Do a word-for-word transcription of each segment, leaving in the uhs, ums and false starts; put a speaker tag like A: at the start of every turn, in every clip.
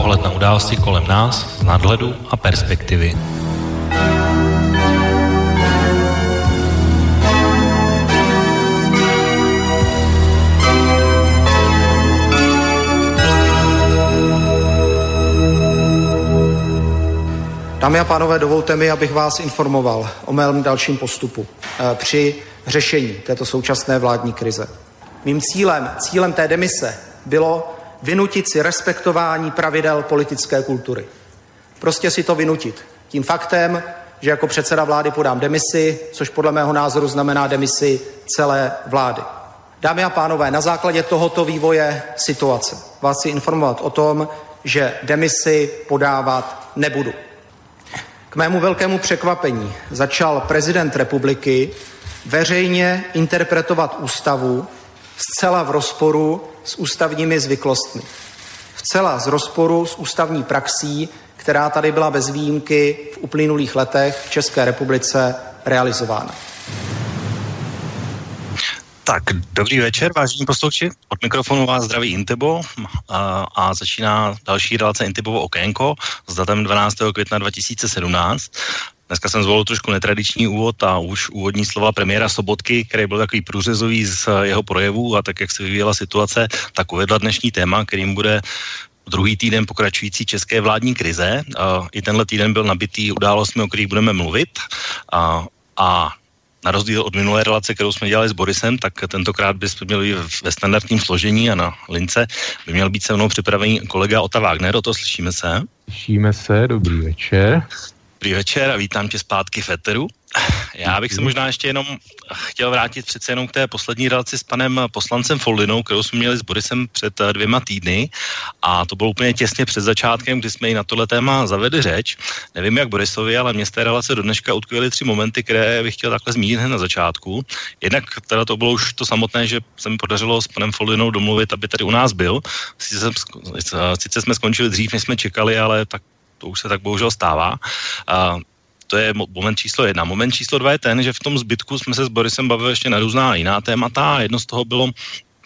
A: Pohled na události kolem nás z nadhledu a perspektivy.
B: Dámy a pánové, dovolte mi, abych vás informoval o mém dalším postupu při řešení této současné vládní krize. Mým cílem, cílem té demise bylo vynutit si respektování pravidel politické kultury. Prostě si to vynutit. Tím faktem, že jako předseda vlády podám demisi, což podle mého názoru znamená demisi celé vlády. Dámy a pánové, na základě tohoto vývoje situace vás chci informovat o tom, že demisi podávat nebudu. K mému velkému překvapení začal prezident republiky veřejně interpretovat ústavu zcela v rozporu s ústavními zvyklostmi. Vcela z rozporu s ústavní praxí, která tady byla bez výjimky v uplynulých letech v České republice realizována.
C: Tak, dobrý večer, vážení posluchači. Od mikrofonu vás zdraví Intebo a, a začíná další relace Intebovo okénko s datem dvanáctého května dva tisíce sedmnáct. Dneska jsem zvolil trošku netradiční úvod a už úvodní slova premiéra Sobotky, který byl takový průřezový z jeho projevů a tak, jak se vyvíjela situace, tak uvedla dnešní téma, kterým bude druhý týden pokračující české vládní krize. I tenhle týden byl nabitý událostmi, o kterých budeme mluvit a, a na rozdíl od minulé relace, kterou jsme dělali s Borisem, tak tentokrát bychom měli ve standardním složení a na lince by měl být se mnou připravený kolega Ota Wagner. O to slyšíme se?
D: Slyšíme se, dobrý večer.
C: Dobrý večer a vítám tě zpátky v éteru. Já bych se možná ještě jenom chtěl vrátit přece jenom k té poslední relaci s panem poslancem Foldynou, kterou jsme měli s Borisem před dvěma týdny a to bylo úplně těsně před začátkem, kdy jsme i na tohle téma zavedli řeč. Nevím jak Borisovi, ale mě z té relace do dneška utkvěly tři momenty, které bych chtěl takhle zmínit hned na začátku. Jednak teda to bylo už to samotné, že se mi podařilo s panem Foldynou domluvit, aby tady u nás byl. Sice, sice jsme skončili dřív, než jsme čekali, ale tak to už se tak bohužel stává. A to je moment číslo jedna. Moment číslo dva je ten, že v tom zbytku jsme se s Borisem bavili ještě na různá jiná témata a jedno z toho bylo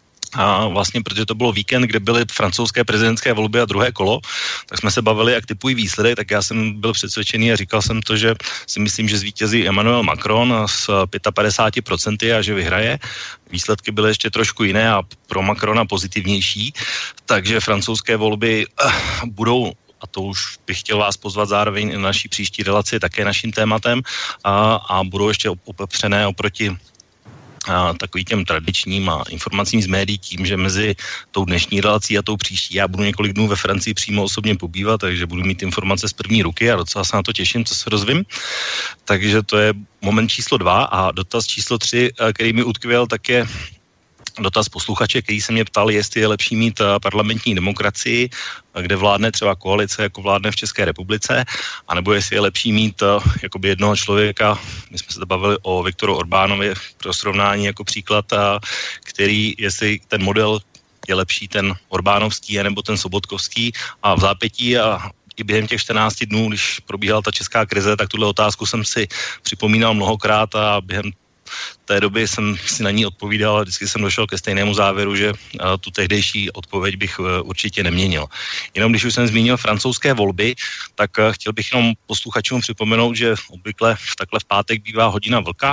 C: a vlastně, protože to bylo víkend, kde byly francouzské prezidentské volby a druhé kolo, tak jsme se bavili, jak typují výsledek, tak já jsem byl přesvědčený a říkal jsem to, že si myslím, že zvítězí Emmanuel Macron s padesát pět procent a že vyhraje. Výsledky byly ještě trošku jiné a pro Macrona pozitivnější, takže francouzské volby budou, a to už bych chtěl vás pozvat zároveň na naší příští relaci, také naším tématem a, a budou ještě opepřené oproti a, takový těm tradičním a informacím z médií tím, že mezi tou dnešní relací a tou příští já budu několik dnů ve Francii přímo osobně pobývat, takže budu mít informace z první ruky a docela se na to těším, co se rozvím. Takže to je moment číslo dva a dotaz číslo tři, který mi utkvěl, tak je dotaz posluchače, který se mě ptal, jestli je lepší mít parlamentní demokracii, kde vládne třeba koalice, jako vládne v České republice, anebo jestli je lepší mít jakoby jednoho člověka, my jsme se bavili o Viktoru Orbánovi pro srovnání jako příklad, který, jestli ten model je lepší, ten Orbánovský nebo ten Sobotkovský a v zápětí a i během těch čtrnácti dnů, když probíhala ta česká krize, tak tuhle otázku jsem si připomínal mnohokrát a během té doby jsem si na ní odpovídal a vždycky jsem došel ke stejnému závěru, že tu tehdejší odpověď bych určitě neměnil. Jenom když už jsem zmínil francouzské volby, tak chtěl bych jenom posluchačům připomenout, že obvykle takhle v pátek bývá hodina vlka.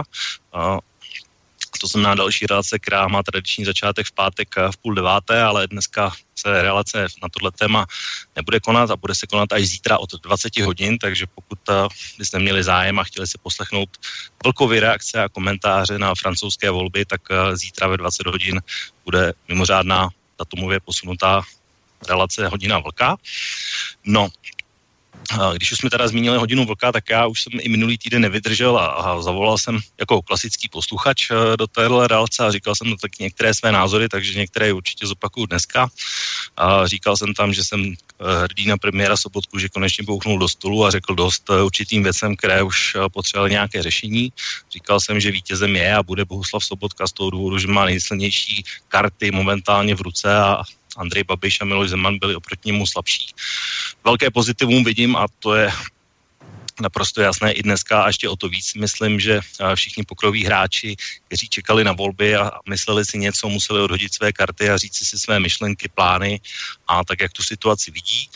C: To znamená další relace, která má tradiční začátek v pátek v půl deváté, ale dneska se relace na tohle téma nebude konat a bude se konat až zítra od dvacet hodin, takže pokud byste neměli zájem a chtěli si poslechnout vlkovy reakce a komentáře na francouzské volby, tak zítra ve dvacet hodin bude mimořádná datumově posunutá relace hodina vlka. No, když už jsme teda zmínili hodinu vlka, tak já už jsem i minulý týden nevydržel a, a zavolal jsem jako klasický posluchač do téhle relace a říkal jsem tak některé své názory, takže některé určitě zopakuju dneska. A říkal jsem tam, že jsem hrdý na premiéra Sobotku, že konečně bouchnul do stolu a řekl dost určitým věcem, které už potřebovaly nějaké řešení. Říkal jsem, že vítězem je a bude Bohuslav Sobotka z toho důvodu, že má nejsilnější karty momentálně v ruce a Andrej Babiš a Miloš Zeman byli oproti němu slabší. Velké pozitivum vidím a to je naprosto jasné i dneska a ještě o to víc myslím, že všichni pokroví hráči, kteří čekali na volby a mysleli si něco, museli odhodit své karty a říct si své myšlenky, plány a tak, jak tu situaci vidí.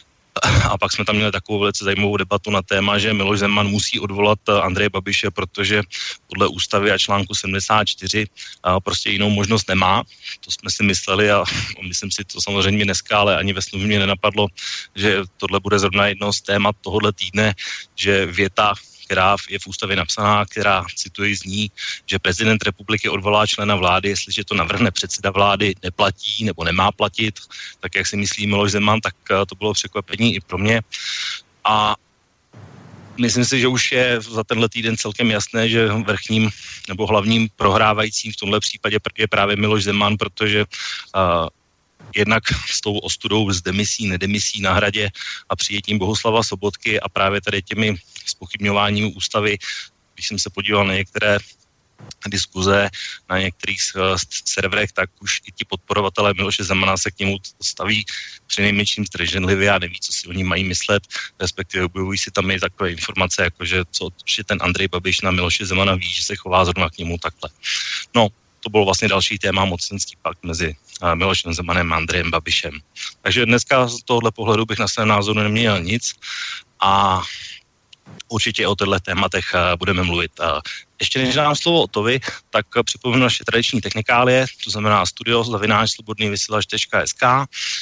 C: A pak jsme tam měli takovou velice zajímavou debatu na téma, že Miloš Zeman musí odvolat Andreje Babiše, protože podle ústavy a článku sedmdesát čtyři prostě jinou možnost nemá. To jsme si mysleli a myslím si to samozřejmě dneska, ale ani ve snu mě nenapadlo, že tohle bude zrovna jedno z témat tohohle týdne, že věta, která je v ústavě napsaná, která, cituji, zní, že prezident republiky odvolá člena vlády, jestliže to navrhne předseda vlády, neplatí nebo nemá platit, tak jak si myslí Miloš Zeman, tak to bylo překvapení i pro mě. A myslím si, že už je za tenhle týden celkem jasné, že vrchním nebo hlavním prohrávajícím v tomhle případě je právě Miloš Zeman, protože uh, jednak s tou ostudou z demisí, nedemisí na Hradě a přijetím Bohuslava Sobotky a právě tady těmi zpochybňováním ústavy, když jsem se podíval na některé diskuze na některých serverech, tak už i ti podporovatelé Miloše Zemana se k němu staví přinejmenším zdrženlivě a neví, co si oni mají myslet, respektive objevují si tam i takové informace, jako že, co, že ten Andrej Babiš na Miloše Zemana ví, že se chová zrovna k němu takhle. No, to bylo vlastně další téma, mocenský pakt mezi Milošem Zemanem a Andrejem Babišem. Takže dneska z tohohle pohledu bych na svém názoru neměl nic a určitě o těchto tématech budeme mluvit. Ještě než dám slovo Otovi, tak připomenu naše tradiční technikálie, to znamená studio zavináč slobodný vysílač tečka es ká.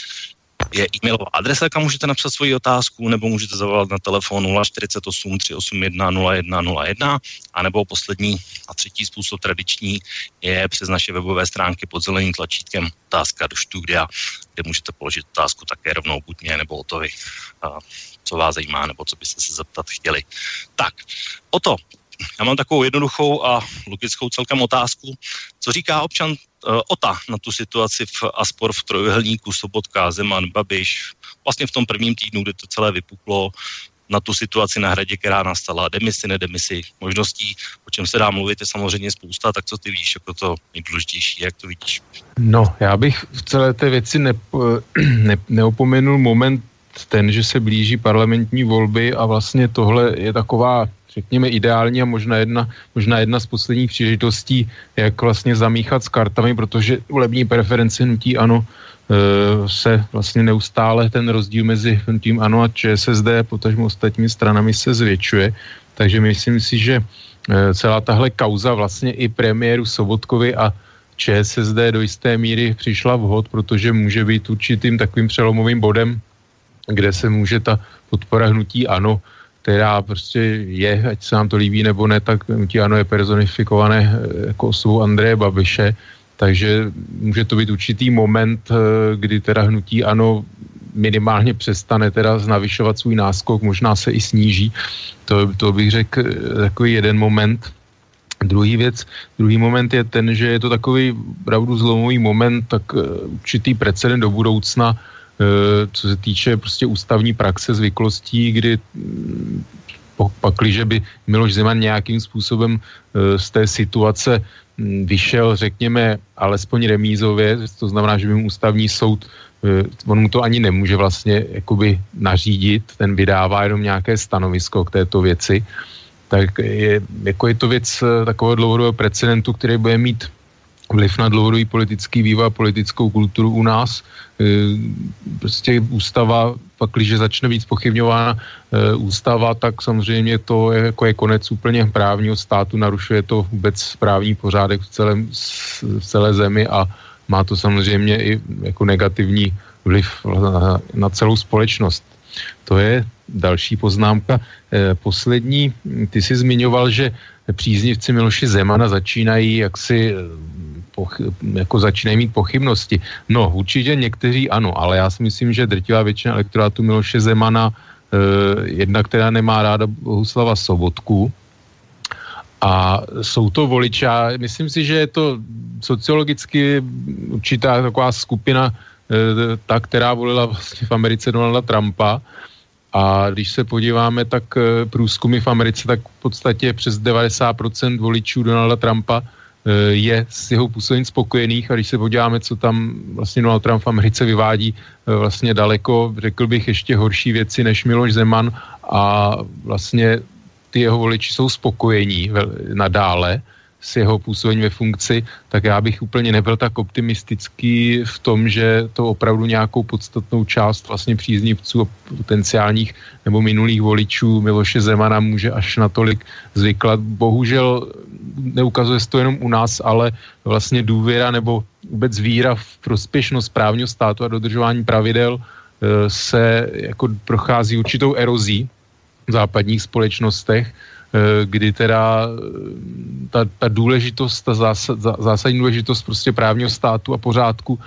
C: Je e-mailová adresa, kam můžete napsat svoji otázku, nebo můžete zavolat na telefon nula čtyřicet osm tři osm jedna nula jedna nula jedna, anebo poslední a třetí způsob tradiční je přes naše webové stránky pod zeleným tlačítkem otázka do studia, kde můžete položit otázku také rovnou buď mě nebo Otovi, co vás zajímá, nebo co byste se zeptat chtěli. Tak, Oto, já mám takovou jednoduchou a logickou celkem otázku. Co říká občan uh, Ota na tu situaci v Aspor v trojuhelníku Sobotka, Zeman, Babiš, vlastně v tom prvním týdnu, kdy to celé vypuklo, na tu situaci na Hradě, která nastala, demisi, nedemisi, možností, o čem se dá mluvit, je samozřejmě spousta, tak co ty víš, jako to nejdůležitější, jak to vidíš?
D: No, já bych v celé té věci nepo, ne, neopomenul moment ten, že se blíží parlamentní volby a vlastně tohle je taková, řekněme, ideální a možná jedna, možná jedna z posledních příležitostí, jak vlastně zamíchat s kartami, protože volební preference hnutí ANO e, se vlastně neustále ten rozdíl mezi hnutím ANO a ČSSD, potažmo ostatními stranami se zvětšuje. Takže myslím si, že e, celá tahle kauza vlastně i premiéru Sobotkovi a ČSSD do jisté míry přišla vhod, protože může být určitým takovým přelomovým bodem, kde se může ta podpora hnutí ANO, která prostě je, ať se nám to líbí nebo ne, tak hnutí ANO je personifikované jako osobou Andreje Babiše, takže může to být určitý moment, kdy teda hnutí ANO minimálně přestane teda navyšovat svůj náskok, možná se i sníží. To, to bych řekl takový jeden moment. Druhý věc, druhý moment je ten, že je to takový opravdu zlomový moment, tak určitý precedent do budoucna, co se týče prostě ústavní praxe, zvyklostí, kdy pakliže by Miloš Zeman nějakým způsobem z té situace vyšel, řekněme, alespoň remízově, to znamená, že by mu ústavní soud, on mu to ani nemůže vlastně jakoby nařídit, ten vydává jenom nějaké stanovisko k této věci, tak je, jako je to věc takového dlouhodobého precedentu, který bude mít vliv na dlouhodobý politický vývoj a politickou kulturu u nás. Prostě ústava, pak když začne být zpochybňována ústava, tak samozřejmě to je, jako je konec úplně právního státu, narušuje to vůbec právní pořádek v, celém, v celé zemi a má to samozřejmě i jako negativní vliv na, na celou společnost. To je další poznámka. Poslední, ty jsi zmiňoval, že příznivci Miloše Zemana začínají jaksi jako začínají mít pochybnosti. No, určitě někteří ano, ale já si myslím, že drtivá většina elektorátu Miloše Zemana eh, jedna, která nemá ráda Bohuslava Sobotku a jsou to voliči. Myslím si, že je to sociologicky určitá taková skupina, eh, ta, která volila vlastně v Americe Donalda Trumpa. A když se podíváme, tak průzkumy v Americe, tak v podstatě přes devadesát procent voličů Donalda Trumpa je s jeho působením spokojených, a když se podíváme, co tam vlastně Donald Trump v Americe vyvádí vlastně daleko, řekl bych, ještě horší věci než Miloš Zeman, a vlastně ty jeho voliči jsou spokojení nadále s jeho působením ve funkci, tak já bych úplně nebyl tak optimistický v tom, že to opravdu nějakou podstatnou část vlastně příznivců a potenciálních nebo minulých voličů Miloše Zemana může až natolik zvyklat. Bohužel neukazuje se to jenom u nás, ale vlastně důvěra nebo vůbec víra v prospěšnost právního státu a dodržování pravidel se jako prochází určitou erozí v západních společnostech, kdy teda ta, ta důležitost, ta zásad, zásadní důležitost prostě právního státu a pořádku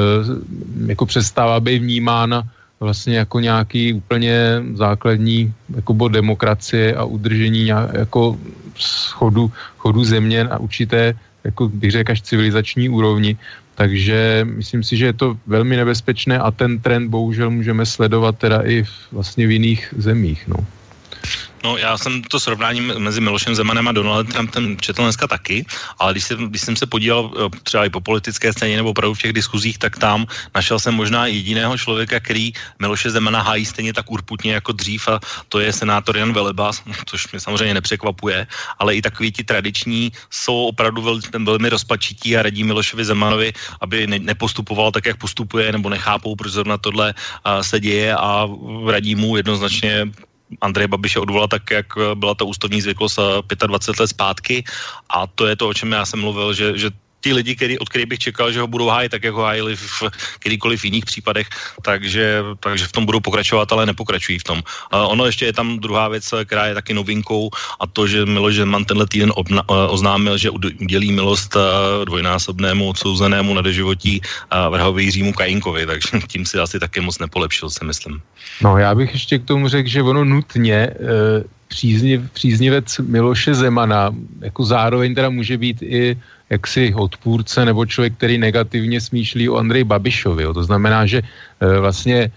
D: jako přestává být vnímána vlastně jako nějaký úplně základní jako bod demokracie a udržení nějak, jako chodu, chodu země na určité, jako bych řekl, až civilizační úrovni. Takže myslím si, že je to velmi nebezpečné a ten trend bohužel můžeme sledovat teda i v, vlastně v jiných zemích, no.
C: No, já jsem to srovnání mezi Milošem Zemanem a Donaldem Trumpem četl dneska taky, ale když jsem, když jsem se podíval třeba i po politické scéně nebo opravdu v těch diskuzích, tak tam našel jsem možná jediného člověka, který Miloše Zemana hájí stejně tak urputně jako dřív, a to je senátor Jan Veleba, což mě samozřejmě nepřekvapuje, ale i takový ti tradiční jsou opravdu velmi, velmi rozpačití a radí Milošovi Zemanovi, aby ne, nepostupoval tak, jak postupuje, nebo nechápou, proč zrovna tohle uh, se děje, a radí mu jednoznačně Andreje Babiše odvolal tak, jak byla ta ústavní zvyklost dvacet pět let zpátky, a to je to, o čem já jsem mluvil, že, že ti lidi, který, od kterých bych čekal, že ho budou hájit tak, jak ho hájili v kterýkoliv jiných případech, takže, takže v tom budou pokračovat, ale nepokračují v tom. Uh, ono ještě je tam druhá věc, která je taky novinkou, a to, že Miloš Zeman tenhle týden obna, uh, oznámil, že udělí milost uh, dvojnásobnému odsouzenému na doživotí uh, vrhovi Jiřímu Kajínkovi, takže tím si asi taky moc nepolepšil, si myslím.
D: No, já bych ještě k tomu řekl, že ono nutně uh, přízniv, příznivec Miloše Zemana jako zároveň teda může být i jaksi odpůrce nebo člověk, který negativně smýšlí o Andreji Babišovi. Jo. To znamená, že e, vlastně e,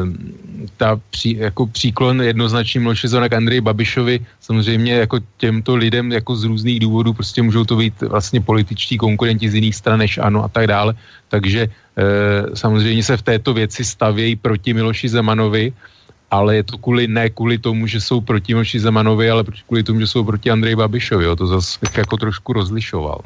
D: ta pří, jako příklon jednoznačný Miloše Zemana k Andreji Babišovi samozřejmě jako těmto lidem jako z různých důvodů prostě můžou to být vlastně političtí konkurenti z jiných stran než ANO a tak dále. Takže e, samozřejmě se v této věci stavějí proti Miloši Zemanovi, ale je to kvůli, ne kvůli tomu, že jsou proti Miloši Zemanovi, ale kvůli tomu, že jsou proti Andreji Babišovi. Jo. To zase jako trošku rozlišoval.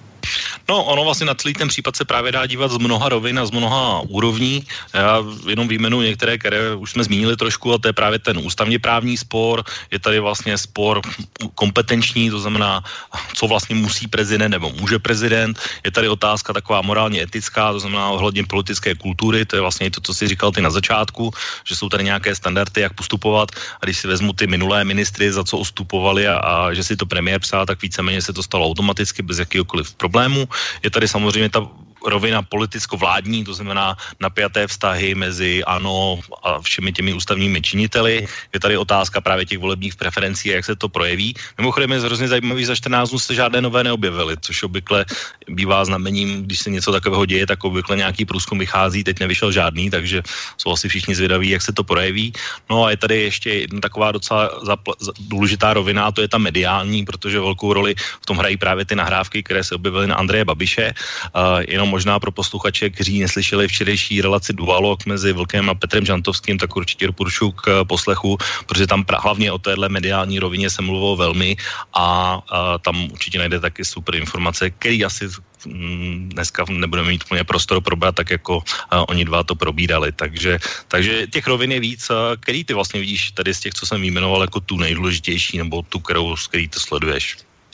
C: No, ono vlastně na celý ten případ se právě dá dívat z mnoha rovin a z mnoha úrovní. Já jenom výjmenuji některé, které už jsme zmínili trošku, a to je právě ten ústavně právní spor. Je tady vlastně spor kompetenční, to znamená, co vlastně musí prezident nebo může prezident. Je tady otázka taková morálně etická, to znamená ohledně politické kultury, to je vlastně to, co jsi říkal ty na začátku, že jsou tady nějaké standardy, jak postupovat, a když si vezmu ty minulé ministry, za co ustupovali, a, a že si to premiér psal, tak víceméně se to stalo automaticky bez jakýhokoliv problému. Je tady samozřejmě ta rovina politicko-vládní, to znamená napjaté vztahy mezi ANO a všemi těmi ústavními činiteli. Je tady otázka právě těch volebních preferencí a jak se to projeví. Mimochodem je hrozně zajímavý, za čtrnáct dnů se žádné nové neobjevily, což obvykle bývá znamením, když se něco takového děje, tak obvykle nějaký průzkum vychází, teď nevyšel žádný, takže jsou asi všichni zvědaví, jak se to projeví. No a je tady ještě jedna taková docela zapl- důležitá rovina, a to je ta mediální, protože velkou roli v tom hrají právě ty nahrávky, které se objevily na Andreje Babiše. Uh, jenom možná pro posluchače, kteří neslyšeli včerejší relaci Dualog mezi Vlkem a Petrem Žantovským, tak určitě doporučuji k poslechu, protože tam pra, hlavně o téhle mediální rovině se mluvilo velmi, a, a tam určitě najde taky super informace, který asi m, dneska nebudeme mít úplně prostor probrat, tak jako a, oni dva to probírali. Takže, takže těch rovin je víc. A, který ty vlastně vidíš tady z těch, co jsem vyjmenoval, jako tu nejdůležitější, nebo tu, kterou, z který to sleduješ?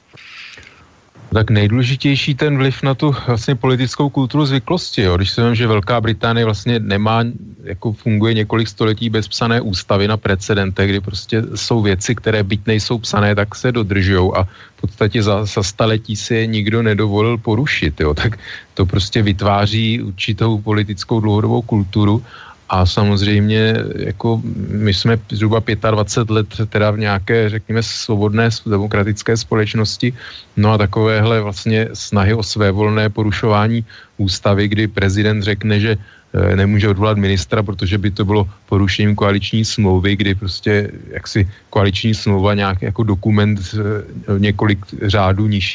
D: Tak nejdůležitější ten vliv na tu vlastně politickou kulturu zvyklosti. Jo. Když se vím, že Velká Británie vlastně nemá, jako funguje několik století bez psané ústavy na precedentech, kdy prostě jsou věci, které byť nejsou psané, tak se dodržujou, a v podstatě za, za staletí si je nikdo nedovolil porušit. Jo. Tak to prostě vytváří určitou politickou dlouhodobou kulturu. A samozřejmě, jako my jsme zhruba dvacet pět let teda v nějaké, řekněme, svobodné demokratické společnosti, no a takovéhle vlastně snahy o svévolné porušování ústavy, kdy prezident řekne, že nemůže odvolat ministra, protože by to bylo porušením koaliční smlouvy, kdy prostě jaksi koaliční smlouva nějak jako dokument několik řádů nižší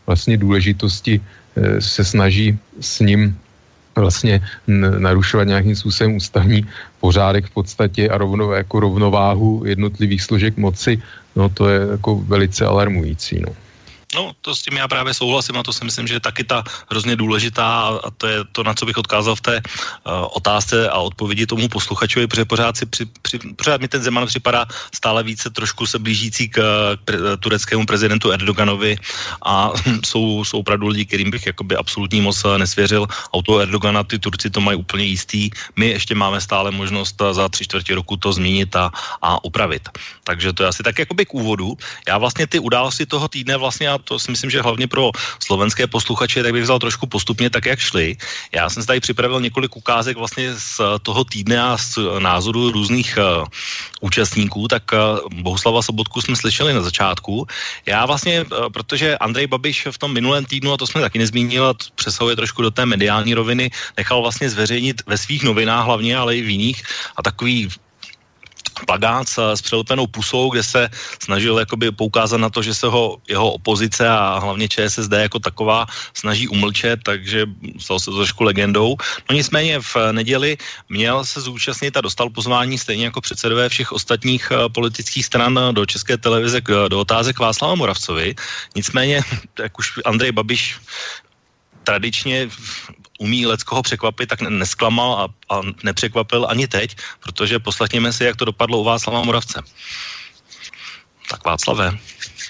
D: vlastně důležitosti se snaží s ním vlastně narušovat nějakým způsobem ústavní pořádek v podstatě a rovno, jako rovnováhu jednotlivých složek moci, no to je jako velice alarmující, no.
C: No, to s tím já právě souhlasím a to si myslím, že je taky ta hrozně důležitá a to je to, na co bych odkázal v té uh, otázce a odpovědi tomu posluchačovi, protože pořád, si při, při, pořád mi ten Zeman připadá stále více trošku se blížící k, k pre, tureckému prezidentu Erdoganovi a jsou, jsou opravdu lidi, kterým bych jakoby absolutní moc nesvěřil. A u toho Erdogana ty Turci to mají úplně jistý. My ještě máme stále možnost za tři čtvrtě roku to změnit a, a upravit. Takže to je asi tak jakoby k úvodu. Já vlastně ty události toho týdne vlastně to si myslím, že hlavně pro slovenské posluchače, tak bych vzal trošku postupně tak, jak šli. Já jsem si tady připravil několik ukázek vlastně z toho týdne a z názoru různých uh, účastníků, tak uh, Bohuslava Sobotku jsme slyšeli na začátku. Já vlastně, uh, protože Andrej Babiš v tom minulém týdnu, a to jsme taky nezmínili, a přesahuje trošku do té mediální roviny, nechal vlastně zveřejnit ve svých novinách hlavně, ale i v jiných a takový plakát s přelepenou pusou, kde se snažil jakoby poukázat na to, že se ho jeho opozice a hlavně ČSSD jako taková snaží umlčet, takže stal se to trošku legendou. No nicméně v neděli měl se zúčastnit a dostal pozvání stejně jako předsedové všech ostatních politických stran do České televize do otázek Václava Moravcovi. Nicméně, jak už Andrej Babiš tradičně umí leckoho překvapit, tak nesklamal a, a nepřekvapil ani teď, protože poslechněme si, jak to dopadlo u Václava Moravce. Tak Václave.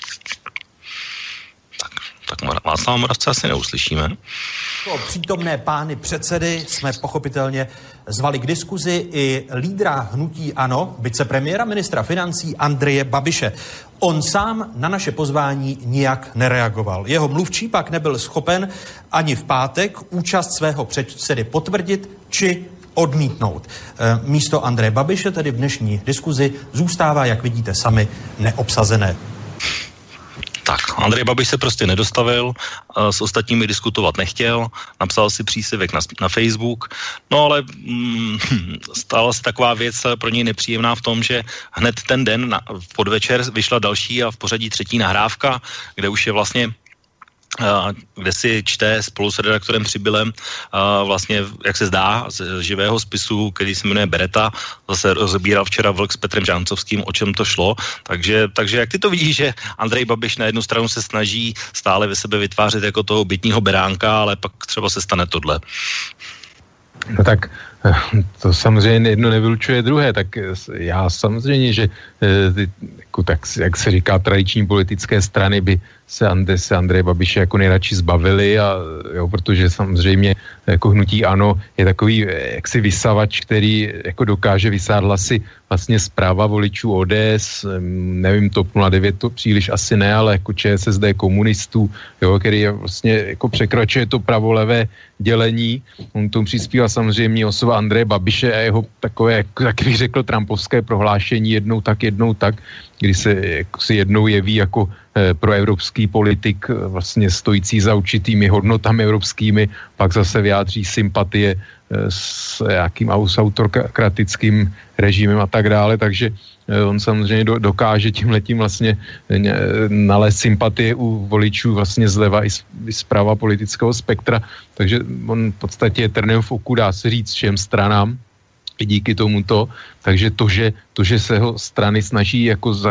C: Tak, tak Václava Moravce asi neuslyšíme.
E: Přítomné pány předsedy jsme pochopitelně zvali k diskuzi i lídra hnutí ANO, vicepremiéra ministra financí Andreje Babiše. On sám na naše pozvání nijak nereagoval. Jeho mluvčí pak nebyl schopen ani v pátek účast svého předsedy potvrdit či odmítnout. Místo Andreje Babiše tedy v dnešní diskuzi zůstává, jak vidíte sami, neobsazené.
C: Tak, Andrej Babiš se prostě nedostavil, s ostatními diskutovat nechtěl, napsal si příspěvek na, na Facebook, no ale mm, stala se taková věc pro něj nepříjemná v tom, že hned ten den na, v podvečer vyšla další a v pořadí třetí nahrávka, kde už je vlastně kde si čte spolu s redaktorem Přibylem vlastně, jak se zdá, z živého spisu, který se jmenuje Bereta, zase rozbíral včera Vlk s Petrem Žántovským, o čem to šlo. Takže, takže jak ty to vidíš, že Andrej Babiš na jednu stranu se snaží stále ve sebe vytvářet jako toho bytního beránka, ale pak třeba se stane tohle.
D: No tak to samozřejmě jedno nevylučuje druhé, tak já samozřejmě, že jako tak, jak se říká, tradiční politické strany by se, Ande, se Andreje Babiše jako nejradši zbavili, a, jo, protože samozřejmě jako hnutí ANO je takový jaksi vysavač, který jako dokáže vysát hlasy vlastně zpráva voličů O D S, nevím, TOP nula devět to příliš asi ne, ale jako ČSSD komunistů, jo, který je vlastně jako překračuje to pravolevé dělení. On tomu přispívá samozřejmě osoba Andreje Babiše a jeho takové, jak bych řekl, trumpovské prohlášení jednou tak, jednou tak, kdy se jako si jednou jeví jako eh, proevropský politik, vlastně stojící za určitými hodnotami evropskými, pak zase vyjádří sympatie eh, s nějakým autokratickým režimem a tak dále, takže eh, on samozřejmě do, dokáže tímhletím vlastně eh, nalézt sympatie u voličů vlastně zleva i, z, i zprava politického spektra, takže on v podstatě je trnem v oku, dá se říct, všem stranám díky tomuto, takže to, že, to, že se ho strany snaží jako za,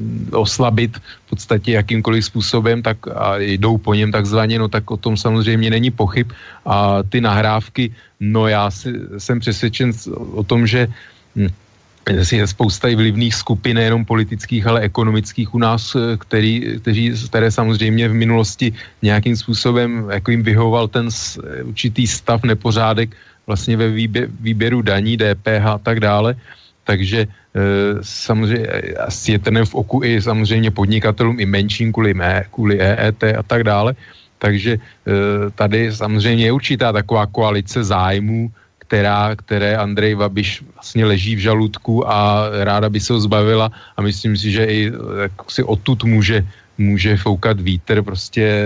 D: oslabit v podstatě jakýmkoliv způsobem, tak a jdou po něm takzvaně, no tak o tom samozřejmě není pochyb. A ty nahrávky, no já si, jsem přesvědčen o tom, že hm, je spousta i vlivných skupin, nejenom politických, ale ekonomických u nás, který, kteří, které samozřejmě v minulosti nějakým způsobem jako jim vyhovoval ten určitý stav, nepořádek vlastně ve výbě, výběru daní, D P H a tak dále. Takže e, samozřejmě asi je trnem v oku i samozřejmě podnikatelům, i menším kvůli, mé, kvůli E E T a tak dále. Takže e, tady samozřejmě je určitá taková koalice zájmů, která, které Andrej Babiš vlastně leží v žaludku a ráda by se ho zbavila, a myslím si, že i si odtud může může foukat vítr, prostě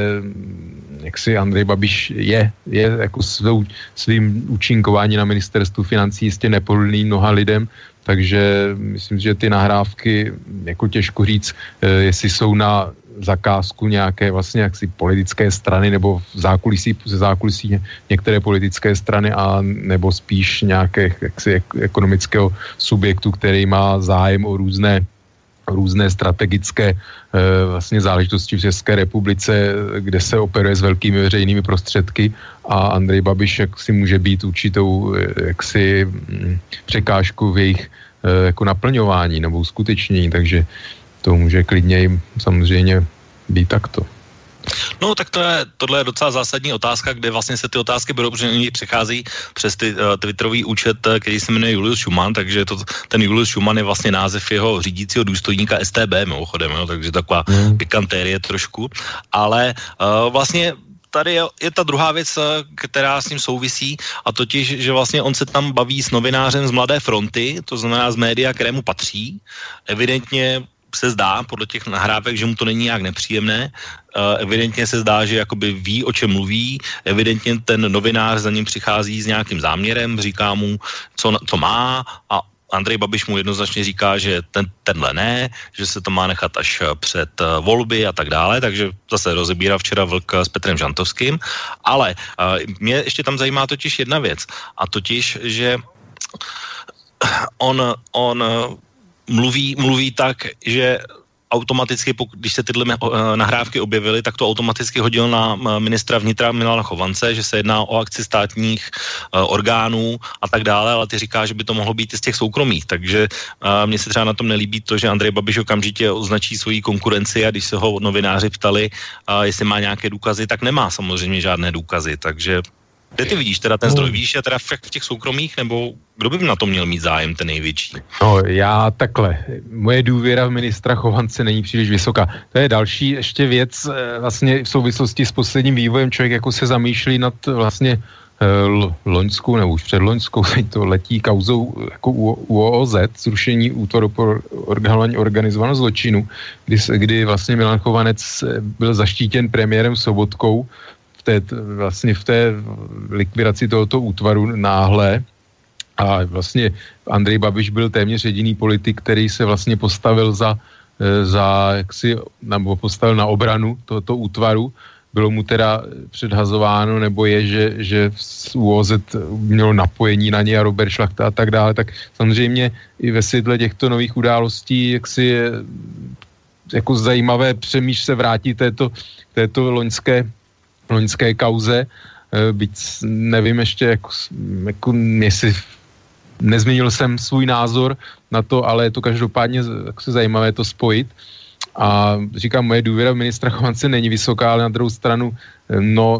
D: jak si Andrej Babiš je, je jako svou, svým účinkování na ministerstvu financí jistě nepohodlný mnoha lidem, takže myslím, že ty nahrávky, jako těžko říct, jestli jsou na zakázku nějaké vlastně jaksi politické strany nebo v zákulisí, ze zákulisí některé politické strany a nebo spíš nějaké jaksi ekonomického subjektu, který má zájem o různé různé strategické e, vlastně záležitosti v České republice, kde se operuje s velkými veřejnými prostředky a Andrej Babiš jaksi může být určitou jaksi m, překážku v jejich e, jako naplňování nebo uskutečnění, takže to může klidně jim samozřejmě být takto.
C: No tak to je, tohle je docela zásadní otázka, kde vlastně se ty otázky budou, protože oni přechází přes ty, uh, twitterový účet, který se jmenuje Julius Schumann, takže to, ten Julius Schumann je vlastně název jeho řídícího důstojníka S T B, mimochodem, jo, takže taková mm. pikantérie trošku, ale uh, vlastně tady je, je ta druhá věc, která s ním souvisí, a totiž, že vlastně on se tam baví s novinářem z Mladé fronty, to znamená z média, kterému patří, evidentně se zdá, podle těch nahrávek, že mu to není nějak nepříjemné. Uh, evidentně se zdá, že jakoby ví, o čem mluví. Evidentně ten novinář za ním přichází s nějakým záměrem, říká mu, co, co má, a Andrej Babiš mu jednoznačně říká, že ten, tenhle ne, že se to má nechat až před uh, volby a tak dále, takže zase rozebírá včera Vlk s Petrem Žantovským. Ale uh, mě ještě tam zajímá totiž jedna věc, a totiž, že on, on Mluví, mluví tak, že automaticky, když se tyhle nahrávky objevily, tak to automaticky hodil na ministra vnitra Milana Chovance, že se jedná o akci státních orgánů a tak dále, ale ty říká, že by to mohlo být i z těch soukromých, takže mně se třeba na tom nelíbí to, že Andrej Babiš okamžitě označí svoji konkurenci, a když se ho novináři ptali, jestli má nějaké důkazy, tak nemá samozřejmě žádné důkazy, takže kde ty vidíš teda ten zdroj? Vidíš je teda v těch soukromých, nebo kdo by na to měl mít zájem, ten největší?
D: No, já takhle. Moje důvěra v ministra Chovance není příliš vysoká. To je další ještě věc vlastně v souvislosti s posledním vývojem. Člověk jako se zamýšlí nad vlastně l- loňskou, nebo už předloňskou, teď to letí kauzou jako U O Z, zrušení útvaru pro odhalování organizovaného zločinu, kdy, kdy vlastně Milan Chovanec byl zaštítěn premiérem Sobotkou Té, vlastně v té likvidaci tohoto útvaru náhle, a vlastně Andrej Babiš byl téměř jediný politik, který se vlastně postavil za, za jaksi, nebo postavil na obranu tohoto útvaru. Bylo mu teda předhazováno, nebo je, že, že U O Z mělo napojení na ně a Robert Šlachta a tak dále, tak samozřejmě i ve světle těchto nových událostí jaksi je jako zajímavé přemýšlet se vrátit této, této loňské loňské kauze, byť nevím ještě, jako, jako jestli nezměnil jsem svůj názor na to, ale je to každopádně jako se zajímavé to spojit. A říkám, moje důvěra v ministra Chovance není vysoká, ale na druhou stranu, no,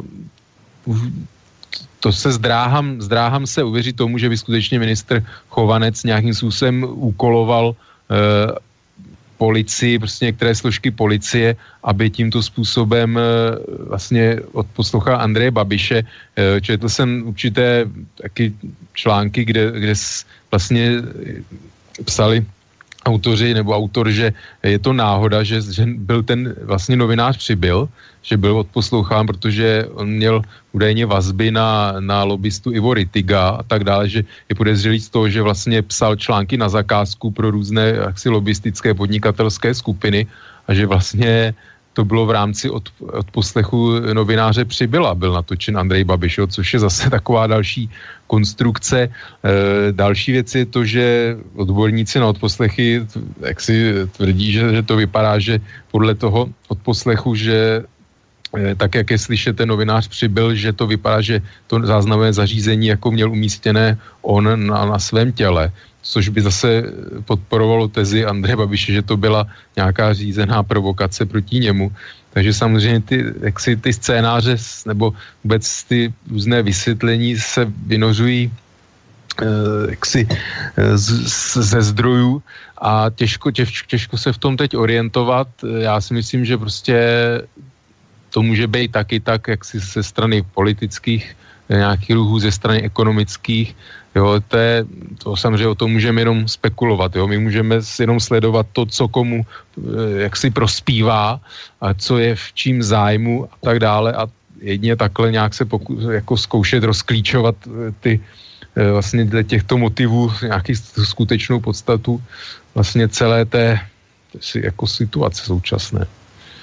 D: to se zdráhám, zdráhám se uvěřit tomu, že by skutečně ministr Chovanec nějakým způsobem úkoloval eh, policii, prostě některé složky policie, aby tímto způsobem vlastně odposlouchal Andreje Babiše. Četl jsem určité taky články, kde, kde vlastně psali autoři nebo autor, že je to náhoda, že, že byl ten vlastně novinář přibyl, že byl odposlouchán, protože on měl údajně vazby na, na lobbystu Ivo Rittiga a tak dále, že je podezřelý z toho, že vlastně psal články na zakázku pro různé jaksi lobbystické podnikatelské skupiny a že vlastně to bylo v rámci od, od poslechu novináře Přibyla, byl natočen Andrej Babiš, což je zase taková další konstrukce. E, další věc je to, že odborníci na odposlechy jak si tvrdí, že, že to vypadá, že podle toho odposlechu, že e, tak, jak je slyšet ten novinář Přibyl, že to vypadá, že to záznamové zařízení jako měl umístěné on na, na svém těle, což by zase podporovalo tezi Andreje Babiše, že to byla nějaká řízená provokace proti němu. Takže samozřejmě ty, jak si ty scénáře nebo vůbec ty různé vysvětlení se vynořují eh, jaksi eh, z, z, ze zdrojů a těžko, těžko, těžko se v tom teď orientovat. Já si myslím, že prostě to může být taky tak, jak si ze strany politických, nějakých ruchů ze strany ekonomických. Jo, to, je, to samozřejmě o tom můžeme jenom spekulovat. Jo. My můžeme jenom sledovat to, co komu jak si prospívá a co je v čím zájmu a tak dále a jedině takhle nějak se poku, jako zkoušet rozklíčovat ty vlastně těchto motivů, nějaký skutečnou podstatu vlastně celé té jako situace současné.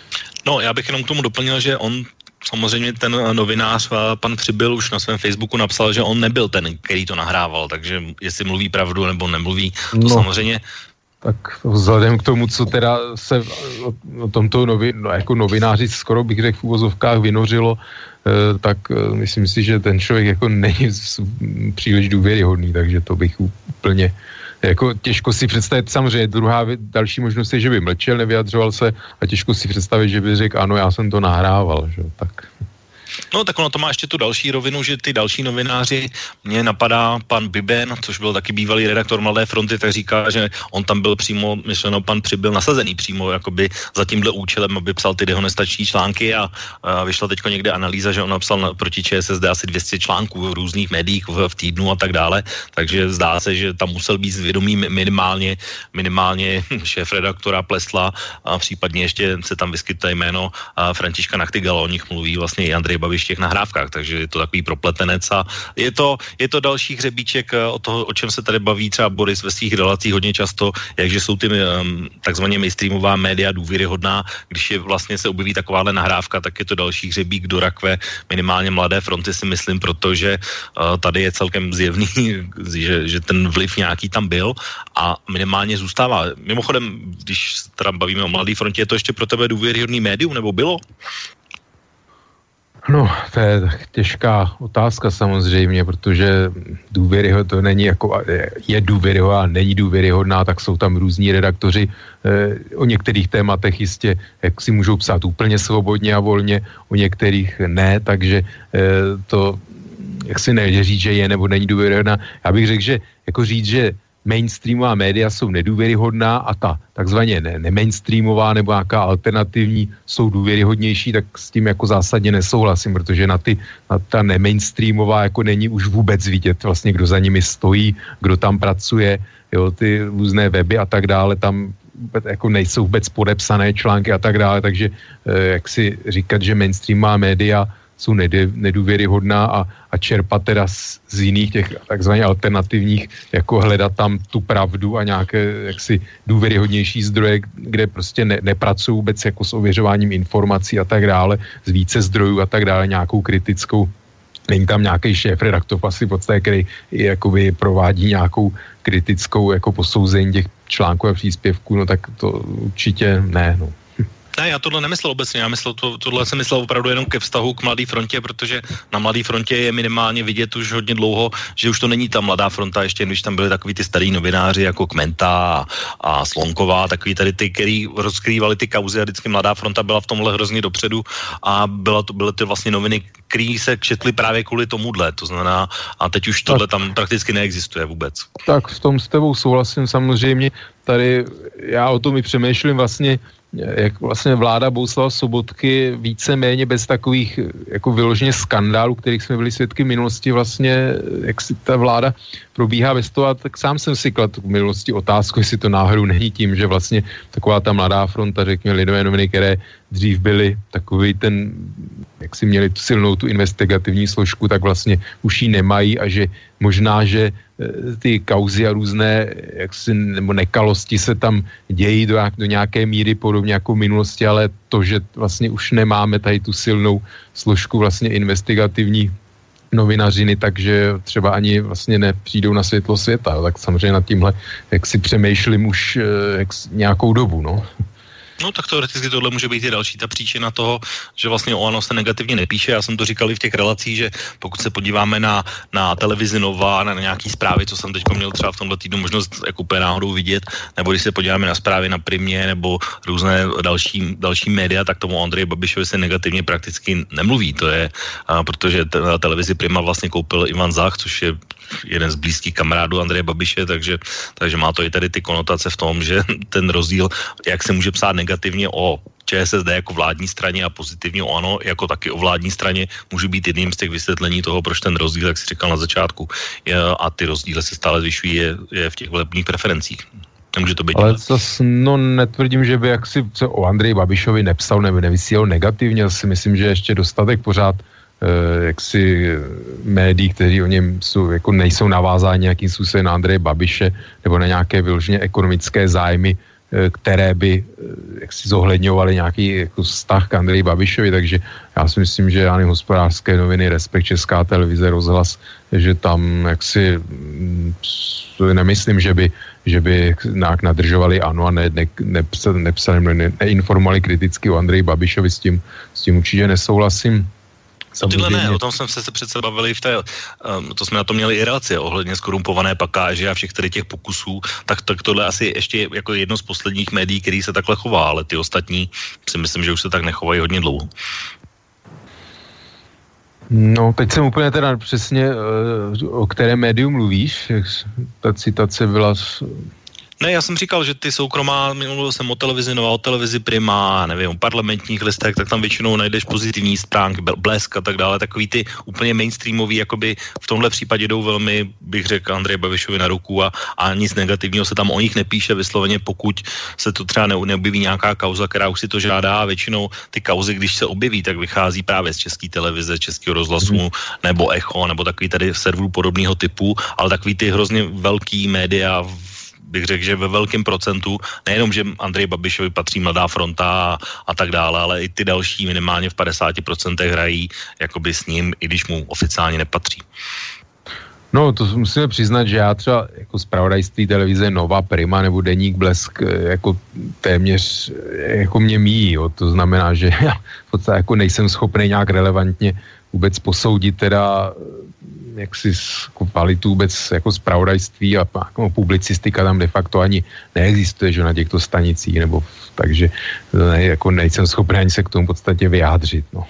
C: No, já bych jenom k tomu doplnil, že on samozřejmě ten novinář, pan Přibyl, už na svém Facebooku napsal, že on nebyl ten, který to nahrával, takže jestli mluví pravdu nebo nemluví, to no, samozřejmě...
D: Tak vzhledem k tomu, co teda se o, o tomto novi, no, jako novináři skoro bych řekl v uvozovkách vynořilo, eh, tak eh, myslím si, že ten člověk jako není příliš důvěryhodný, takže to bych úplně... Jako těžko si představit, samozřejmě druhá další možnost je, že by mlčel, nevyjadřoval se a těžko si představit, že by řekl, ano, já jsem to nahrával, že tak...
C: No tak ono to má ještě tu další rovinu, že ty další novináři, mně napadá pan Biben, což byl taky bývalý redaktor Mladé fronty, tak říká, že on tam byl přímo, myšleno pan Přibyl, nasazený přímo jakoby za tímhle účelem, aby psal ty dehonestační články a, a vyšla teďko někde analýza, že on napsal na, proti ČSSD asi dvě stě článků v různých médiích v, v týdnu a tak dále, takže zdá se, že tam musel být zvědomý minimálně, minimálně šéf-redaktora Plesla a případně ještě se tam vyskytne jméno Františka Nachtigala, o nich mluví vlastně i Andrej Babiš v těch nahrávkách, takže je to takový propletenec a je to, je to další hřebíček o toho, o čem se tady baví třeba Boris ve svých relacích hodně často, jakže jsou ty um, takzvaně mainstreamová média důvěryhodná, když je vlastně se objeví takováhle nahrávka, tak je to další hřebík do rakve minimálně Mladé fronty, si myslím, protože uh, tady je celkem zjevný, že, že ten vliv nějaký tam byl a minimálně zůstává. Mimochodem, když teda bavíme o Mladé frontě, je to ještě pro tebe důvěryhodný médium, nebo bylo?
D: No, to je tak těžká otázka samozřejmě, protože důvěryhodná to není jako, je důvěryhodná, není důvěryhodná, tak jsou tam různí redaktoři, eh, o některých tématech jistě, jak si můžou psát úplně svobodně a volně, o některých ne, takže eh, to, jak si nejde říct, že je nebo není důvěryhodná. Já bych řekl, že jako říct, že mainstreamová média jsou nedůvěryhodná a ta takzvaně ne, nemainstreamová nebo nějaká alternativní jsou důvěryhodnější, tak s tím jako zásadně nesouhlasím, protože na ty, na ta nemainstreamová jako není už vůbec vidět vlastně, kdo za nimi stojí, kdo tam pracuje, jo, ty různé weby a tak dále, tam jako nejsou vůbec podepsané články a tak dále, takže eh, jak si říkat, že mainstreamová média jsou nedůvěryhodná a, a čerpat teda z, z jiných těch takzvaně alternativních, jako hledat tam tu pravdu a nějaké jaksi důvěryhodnější zdroje, kde prostě ne, nepracují vůbec jako s ověřováním informací a tak dále, z více zdrojů a tak dále, nějakou kritickou. Není tam nějaký šéf-redaktor asi v podstatě, který jakoby provádí nějakou kritickou jako posouzení těch článků a příspěvků, no tak to určitě ne, no.
C: Ne, já tohle nemyslel obecně, já myslel, to, tohle jsem myslel opravdu jenom ke vztahu k Mladé frontě, protože na Mladé frontě je minimálně vidět už hodně dlouho, že už to není ta Mladá fronta, ještě když tam byli takový ty starý novináři jako Kmenta a, a Slonková, takový tady ty, který rozkrývali ty kauzy a vždycky Mladá fronta byla v tomhle hrozně dopředu a byla to, byly to vlastně noviny, které se četly právě kvůli tomuhle, to znamená, a teď už tohle tam prakticky neexistuje vůbec.
D: Tak v tom s tebou souhlasím samozřejmě, tady já o tom i přemýšlím vlastně, jak vlastně vláda Bohuslava Sobotky víceméně bez takových jako vyloženě skandálů, kterých jsme byli svědky v minulosti, vlastně jak si ta vláda probíhá bez toho, a tak sám jsem si kladl v minulosti otázku, jestli to náhodou není tím, že vlastně taková ta Mladá fronta, řekněme lidové noviny, které dřív byly takový ten, jak si měli tu silnou tu investigativní složku, tak vlastně už ji nemají a že možná, že ty kauzy a různé jaksi, nebo nekalosti se tam dějí do, do nějaké míry podobně jako v minulosti, ale to, že vlastně už nemáme tady tu silnou složku vlastně investigativní novinařiny, takže třeba ani vlastně nepřijdou na světlo světa. Tak samozřejmě nad tímhle, jak si přemýšlím už jak, nějakou dobu, no.
C: No tak teoreticky tohle může být i další ta příčina toho, že vlastně o ANO se negativně nepíše. Já jsem to říkal i v těch relacích, že pokud se podíváme na, na televizi Nova, na nějaký zprávy, co jsem teď měl třeba v tomhle týdnu možnost jako úplně náhodou vidět, nebo když se podíváme na zprávy na Primě nebo různé další, další média, tak tomu Andreji Babišovi se negativně prakticky nemluví. To je, a, protože te, na televizi Prima vlastně koupil Ivan Zach, což je jeden z blízkých kamarádů Andreje Babiše, takže, takže má to i tady ty konotace v tom, že ten rozdíl, jak se může psát negativně o ČSSD jako vládní straně a pozitivně o ANO jako taky o vládní straně, může být jedním z těch vysvětlení toho, proč ten rozdíl, jak jsi říkal na začátku, je, a ty rozdíly se stále zvyšují, je, je v těch volebních preferencích. Nemůže to být.
D: Ale zase, no netvrdím, že by jaksi se o Andreji Babišovi nepsal nebo nevysílal negativně, si myslím, že ještě dostatek pořád jaksi médií, kteří o něm jsou, jako nejsou navázáni nějakým způsobem na Andreje Babiše nebo na nějaké vyloženě ekonomické zájmy které by jaksi zohledňovaly nějaký jako vztah k Andreji Babišovi, takže já si myslím, že já nevím, Hospodářské noviny, Respekt, Česká televize, Rozhlas, že tam jaksi nemyslím, že by, že by nějak nadržovali ANO a ne, ne, nepsali, nepsali, ne, neinformovali kriticky o Andreji Babišovi, s tím, s tím určitě nesouhlasím.
C: Tyhle ne, o tom jsme se přece bavili v té, um, to jsme na to měli i relaci ohledně skorumpované pakáže a všech tady těch pokusů, tak, tak tohle asi ještě jako jedno z posledních médií, který se takhle chová, ale ty ostatní si myslím, že už se tak nechovají hodně dlouho.
D: No, teď jsem úplně teda přesně, o které médiu mluvíš, ta citace byla...
C: Ne, já jsem říkal, že ty soukromá, mluvil jsem o televizi Nova, o televizi Prima, nevím, o parlamentních listech, tak tam většinou najdeš pozitivní stránky, Blesk a tak dále, takový ty úplně mainstreamový, jakoby v tomhle případě jdou velmi, bych řekl, Andreji Babišovi na ruku a, a nic negativního se tam o nich nepíše vysloveně, pokud se to třeba ne, neobjeví nějaká kauza, která už si to žádá, a většinou ty kauzy, když se objeví, tak vychází právě z České televize, Českého rozhlasu, mm. nebo Echo, nebo takový tady serverů podobného typu, ale takový ty hrozně velký média, bych řekl, že ve velkém procentu, nejenom, že Andrej Babišovi patří Mladá fronta a, a tak dále, ale i ty další minimálně v padesáti procentech hrají jakoby s ním, i když mu oficiálně nepatří.
D: No, to musíme přiznat, že já třeba jako zpravodajství televize Nova, Prima nebo Deník Blesk jako téměř jako mě míjí, jo. To znamená, že já v podstatě jako nejsem schopný nějak relevantně vůbec posoudit teda jaksi kvalitu vůbec jako zpravodajství a jako publicistika tam de facto ani neexistuje, že na těchto stanicích, nebo takže ne, jako nejsem schopný ani se k tomu v podstatě vyjádřit, no.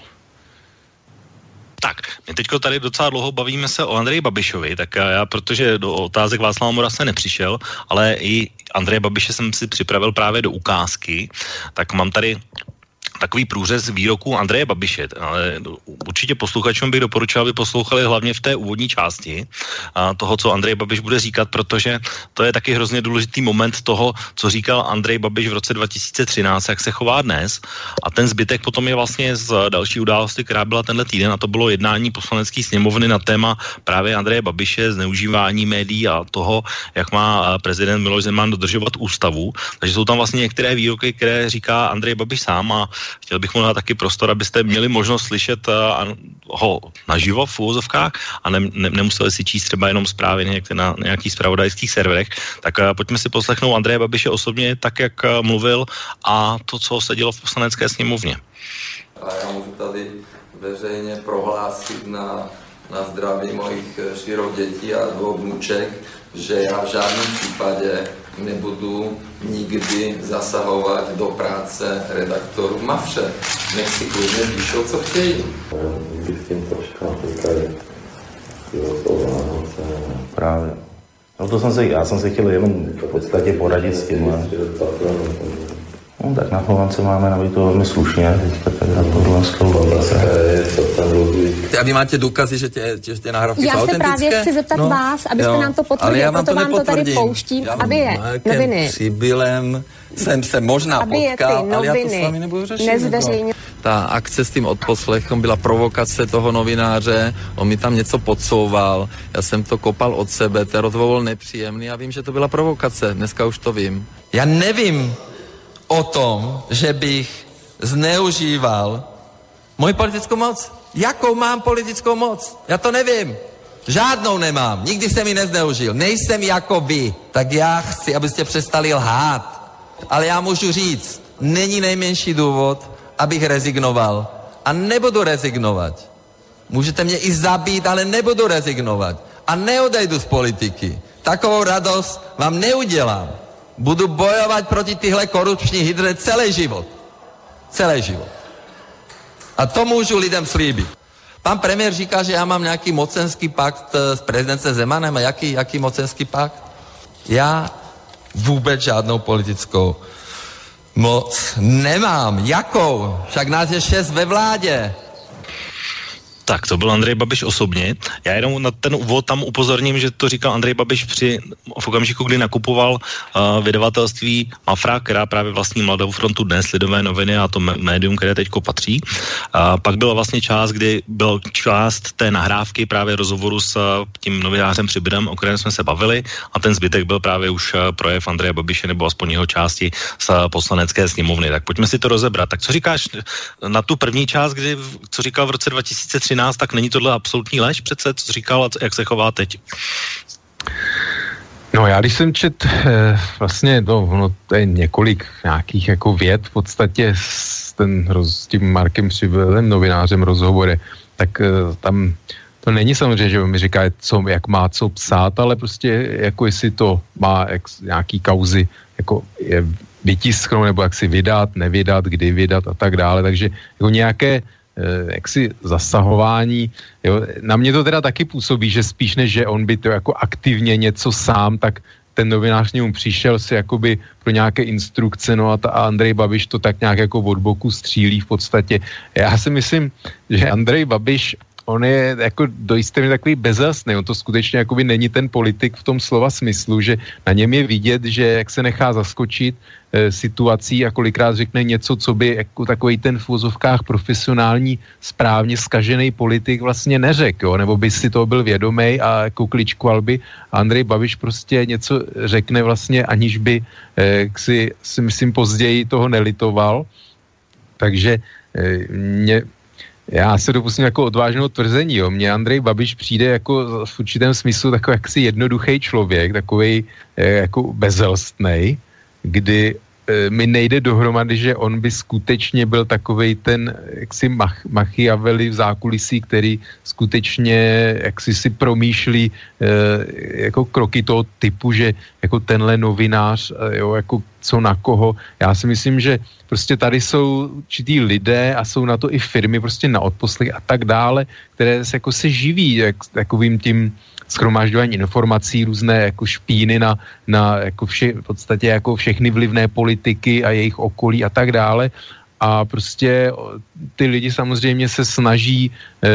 C: Tak, my teďko tady docela dlouho bavíme se o Andreji Babišovi, tak já, protože do otázek Václava Mora se nepřišel, ale i Andreje Babiše jsem si připravil právě do ukázky, tak mám tady takový průřez výroků Andreje Babiše, ale určitě posluchačům bych doporučil, aby poslouchali hlavně v té úvodní části toho, co Andrej Babiš bude říkat, protože to je taky hrozně důležitý moment toho, co říkal Andrej Babiš v roce dva tisíce třináct, jak se chová dnes, a ten zbytek potom je vlastně z další události, která byla tenhle týden, a to bylo jednání poslanecké sněmovny na téma právě Andreje Babiše, zneužívání médií a toho, jak má prezident Miloš Zeman dodržovat ústavu. Takže jsou tam vlastně některé výroky, které říká Andrej Babiš sám, a chtěl bych mu dát taky prostor, abyste měli možnost slyšet uh, ho naživo v úvozovkách a ne, ne, nemuseli si číst třeba jenom zprávy někde na nějakých zpravodajských serverech. Tak uh, pojďme si poslechnout Andreje Babiše osobně, tak jak uh, mluvil, a to, co se dělo v poslanecké sněmovně.
F: A já můžu tady veřejně prohlásit na, na zdraví mojich čtyřech dětí a dvou vnuček, že já v žádném případě nebudu nikdy zasahovat do práce redaktorů Mavře. Nech si klidně píšou, co chtějí.
G: Právě. No to jsem se, já jsem se chtěl jenom v podstatě poradit s tímhle. No tak na Chovance máme na to velmi slušně, teďka tak na tohle slovo.
F: A vy máte důkazy, že tě, že tě nahrávky jsou autentické?
H: Já se právě chci zeptat no, vás, abyste jo, nám to potvrdili, proto vám to tady pouštím, já aby je noviny...
F: Přibylem jsem se možná
H: aby
F: potkal, ale já to s vámi nebudu řešit.
H: Nezveřejnil.
F: Ta akce s tím odposlechem byla provokace toho novináře, on mi tam něco podsouval, já jsem to kopal od sebe, ten rozhovor byl nepříjemný a vím, že to byla provokace, dneska už to vím. Já nevím o tom, že bych zneužíval moji politickou moc. Jakou mám politickou moc? Já to nevím. Žádnou nemám. Nikdy jsem ji nezneužil. Nejsem jako vy. Tak já chci, abyste přestali lhát. Ale já můžu říct, není nejmenší důvod, abych rezignoval. A nebudu rezignovat. Můžete mě i zabít, ale nebudu rezignovat. A neodejdu z politiky. Takovou radost vám neudělám. Budu bojovat proti tyhle korupční hydře celý život. Celý život. A to můžu lidem slíbit. Pan premiér říká, že já mám nějaký mocenský pakt s prezidentem Zemanem. A jaký, jaký mocenský pakt? Já vůbec žádnou politickou moc nemám. Jakou? Však nás je šest ve vládě.
C: Tak, to byl Andrej Babiš osobně. Já jenom na ten úvod tam upozorním, že to říkal Andrej Babiš při v okamžiku, kdy nakupoval uh, vydavatelství Mafra, která právě vlastní Mladou frontu Dnes, Lidové noviny a to médium, které teďko patří. Uh, pak byla vlastně část, kdy byl část té nahrávky právě rozhovoru s uh, tím novinářem Přibydem, o kterém jsme se bavili, a ten zbytek byl právě už uh, projev Andreje Babiše nebo aspoň jeho části z uh, poslanecké sněmovny. Tak pojďme si to rozebrat. Tak co říkáš na tu první část, kdy, co říkal v roce dva tisíce třináct, tak není tohle absolutní lež přece, co říkal a jak se chová teď?
D: No já když jsem čet eh, vlastně, no, no to je několik nějakých jako věd v podstatě s, ten, s tím Markem Přibylem, novinářem rozhovory, tak eh, tam to není samozřejmě, že mi říká, co, jak má co psát, ale prostě jako jestli to má jak, nějaký kauzy jako je vytisknout, nebo jak si vydat, nevydat, kdy vydat a tak dále, takže jako nějaké jaksi zasahování. Jo. Na mě to teda taky působí, že spíš než, že on by to jako aktivně něco sám, tak ten novinář němu přišel si jakoby pro nějaké instrukce, no a, ta, a Andrej Babiš to tak nějak jako od boku střílí v podstatě. Já si myslím, že Andrej Babiš, on je jako do jisté míry takový bezasný, on to skutečně jakoby není ten politik v tom slova smyslu, že na něm je vidět, že jak se nechá zaskočit e, situací a kolikrát řekne něco, co by jako takový ten v uvozovkách profesionální, správně zkažený politik vlastně neřekl, jo? Nebo by si toho byl vědomý a jako kličkoval by. A Andrej Babiš prostě něco řekne vlastně, aniž by e, si, si myslím později toho nelitoval. Takže e, mě já se dopustím jako odvážného tvrzení, jo. Mně Andrej Babiš přijde jako v určitém smyslu takový jaksi jednoduchý člověk, takovej eh, jako bezelstnej, kdy eh, mi nejde dohromady, že on by skutečně byl takovej ten jaksi mach, Machiavelli v zákulisí, který skutečně jaksi si promýšlí eh, jako kroky toho typu, že jako tenhle novinář, eh, jo, jako co na koho. Já si myslím, že prostě tady jsou určitý lidé a jsou na to i firmy prostě na odposlech a tak dále, které se jako se živí jak, takovým tím shromažďování informací, různé jako špíny na, na jako vše, v podstatě jako všechny vlivné politiky a jejich okolí a tak dále. A prostě ty lidi samozřejmě se snaží,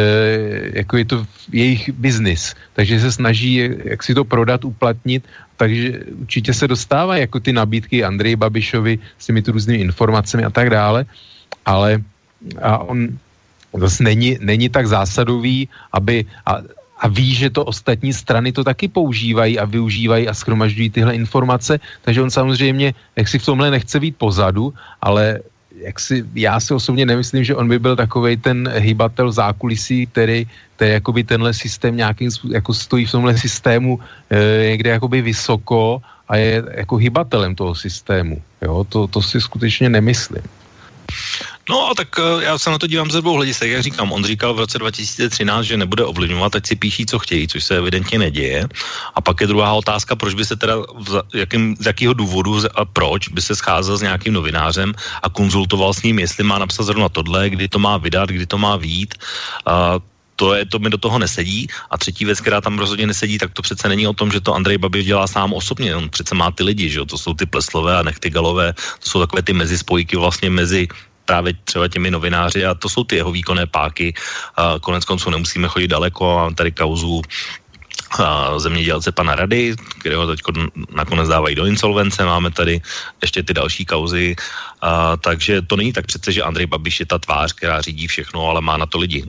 D: eh, jako je to jejich biznis, takže se snaží, jak si to prodat, uplatnit, takže určitě se dostávají jako ty nabídky Andreji Babišovi s těmi tu různými informacemi a tak dále, ale a on zase není, není tak zásadový, aby a, a ví, že to ostatní strany to taky používají a využívají a shromažďují tyhle informace, takže on samozřejmě, jak si v tomhle nechce být pozadu, ale jak si, já si osobně nemyslím, že on by byl takovej ten hybatel zákulisí, který, který jakoby tenhle systém nějakým jako stojí v tomhle systému e, někde jakoby vysoko a je jako hybatelem toho systému. Jo, to, to si skutečně nemyslím.
C: No, tak já se na to dívám ze dvou hledisek, jak říkám, on říkal v roce dva tisíce třináct, že nebude ovlivňovat, ať si píší, co chtějí, což se evidentně neděje. A pak je druhá otázka, proč by se teda, jakým, z jakého důvodu a proč by se scházel s nějakým novinářem a konzultoval s ním, jestli má napsat zrovna tohle, kdy to má vydat, kdy to má vyjít. A to, je, to mi do toho nesedí. A třetí věc, která tam rozhodně nesedí, tak to přece není o tom, že to Andrej Babiš dělá sám osobně. On přece má ty lidi, že jo? To jsou ty Pleslové a Nechtygalové, to jsou takové ty mezispojky vlastně mezi právě třeba těmi novináři a to jsou ty jeho výkonné páky. A konec konců nemusíme chodit daleko. Mám tady kauzu a zemědělce pana Rady, kterého teď nakonec dávají do insolvence. Máme tady ještě ty další kauzy. A, takže to není tak přece, že Andrej Babiš je ta tvář, která řídí všechno, ale má na to lidi.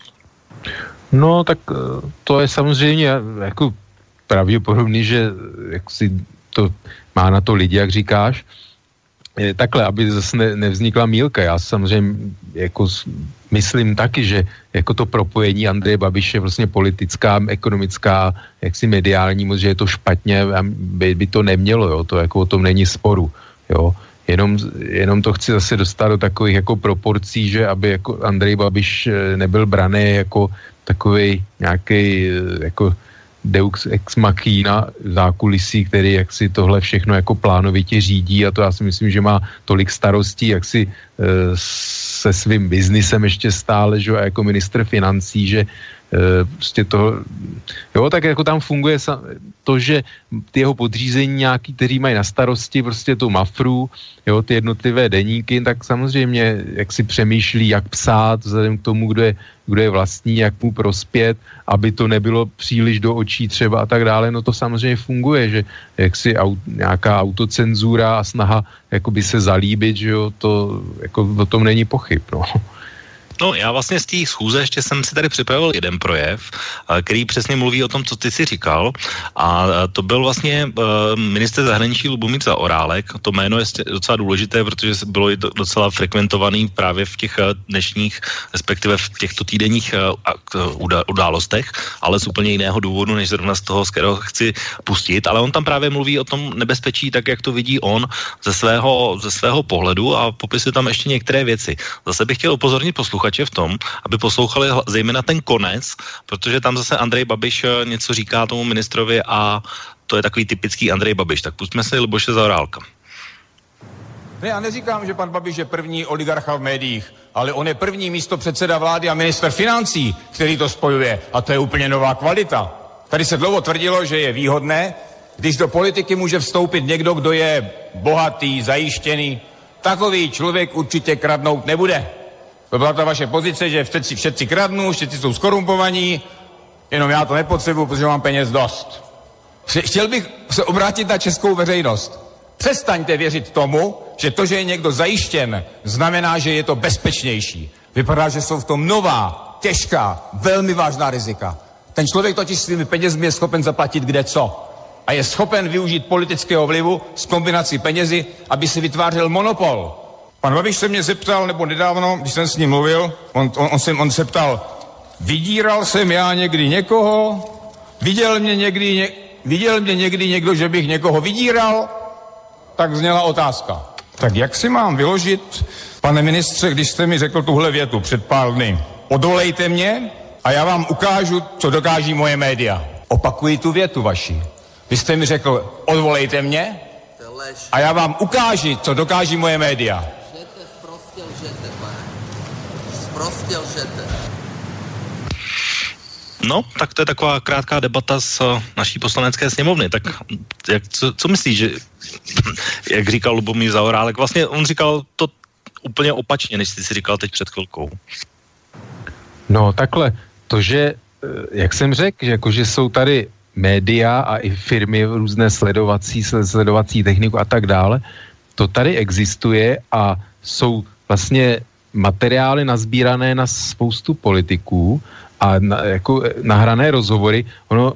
D: No, tak to je samozřejmě jako pravděpodobný, že jak si to má na to lidi, jak říkáš. Takhle, aby zase ne, nevznikla mýlka. Já samozřejmě jako myslím taky, že jako to propojení Andreje Babiše vlastně politická, ekonomická, jaksi mediální moc, že je to špatně a by, by to nemělo, jo. To jako o tom není sporu, jo. Jenom, jenom to chci zase dostat do takových jako proporcí, že aby jako Andrej Babiš nebyl braný jako takovej nějaký jako Deux ex machina zákulisí, který jak si tohle všechno jako plánovitě řídí a to já si myslím, že má tolik starostí, jak si e, se svým biznisem ještě stále, že a jako ministr financí, že prostě to, jo, tak jako tam funguje to, že ty jeho podřízení nějaký, kteří mají na starosti prostě tu mafru, jo, ty jednotlivé deníky, tak samozřejmě jak si přemýšlí, jak psát vzhledem k tomu, kdo je, kdo je vlastní, jak mu prospět, aby to nebylo příliš do očí třeba a tak dále, no to samozřejmě funguje, že jak si aut, nějaká autocenzura a snaha jakoby se zalíbit, že jo, to jako o tom není pochyb, no.
C: No, já vlastně z té schůze ještě jsem si tady připravil jeden projev, který přesně mluví o tom, co ty si říkal, a to byl vlastně ministr zahraničí Lubomír Zaorálek. To jméno je docela důležité, protože bylo docela frekventovaný právě v těch dnešních, respektive v těchto týdenních událostech, ale z úplně jiného důvodu, než zrovna z toho, z kterého chci pustit, ale on tam právě mluví o tom nebezpečí, tak jak to vidí on ze svého, ze svého pohledu a popisuje tam ještě některé věci. Zase bych chtěl upozornit posluchače v tom, aby poslouchali zejména ten konec, protože tam zase Andrej Babiš něco říká tomu ministrovi a to je takový typický Andrej Babiš. Tak pustíme se Luboše Zaorálka.
I: Ne, já neříkám, že pan Babiš je první oligarcha v médiích, ale on je první místopředseda vlády a ministr financí, který to spojuje. A to je úplně nová kvalita. Tady se dlouho tvrdilo, že je výhodné, když do politiky může vstoupit někdo, kdo je bohatý, zajištěný. Takový člověk určitě kradnout nebude. To byla ta vaše pozice, že všetci, všetci kradnou, všetci jsou skorumpovaní, jenom já to nepotřebuji, protože mám peněz dost. Chtěl bych se obrátit na českou veřejnost. Přestaňte věřit tomu, že to, že je někdo zajištěn, znamená, že je to bezpečnější. Vypadá, že jsou v tom nová, těžká, velmi vážná rizika. Ten člověk totiž svými penězmi je schopen zaplatit kde co. A je schopen využít politického vlivu s kombinací penězi, aby si vytvářel monopol. Pan Babiš se mě zeptal, nebo nedávno, když jsem s ním mluvil, on, on, on, se, on se ptal, vydíral jsem já někdy někoho, viděl mě někdy, ně, viděl mě někdy někdo, že bych někoho vydíral, tak zněla otázka. Tak jak si mám vyložit, pane ministře, když jste mi řekl tuhle větu před pár dny, odvolejte mě a já vám ukážu, co dokáží moje média. Opakuji tu větu vaši. Vy jste mi řekl, odvolejte mě a já vám ukážu, co dokáží moje média.
C: No, tak to je taková krátká debata z naší poslanecké sněmovny. Tak jak, co, co myslíš, že, jak říkal Lubomír Zaorálek, vlastně on říkal to úplně opačně, než jsi si říkal teď před chvilkou.
D: No takhle, to, že, jak jsem řekl, že, jako, že jsou tady média a i firmy různé sledovací, sledovací techniku a tak dále, to tady existuje a jsou vlastně materiály nazbírané na spoustu politiků a na, jako nahrané rozhovory. Ono,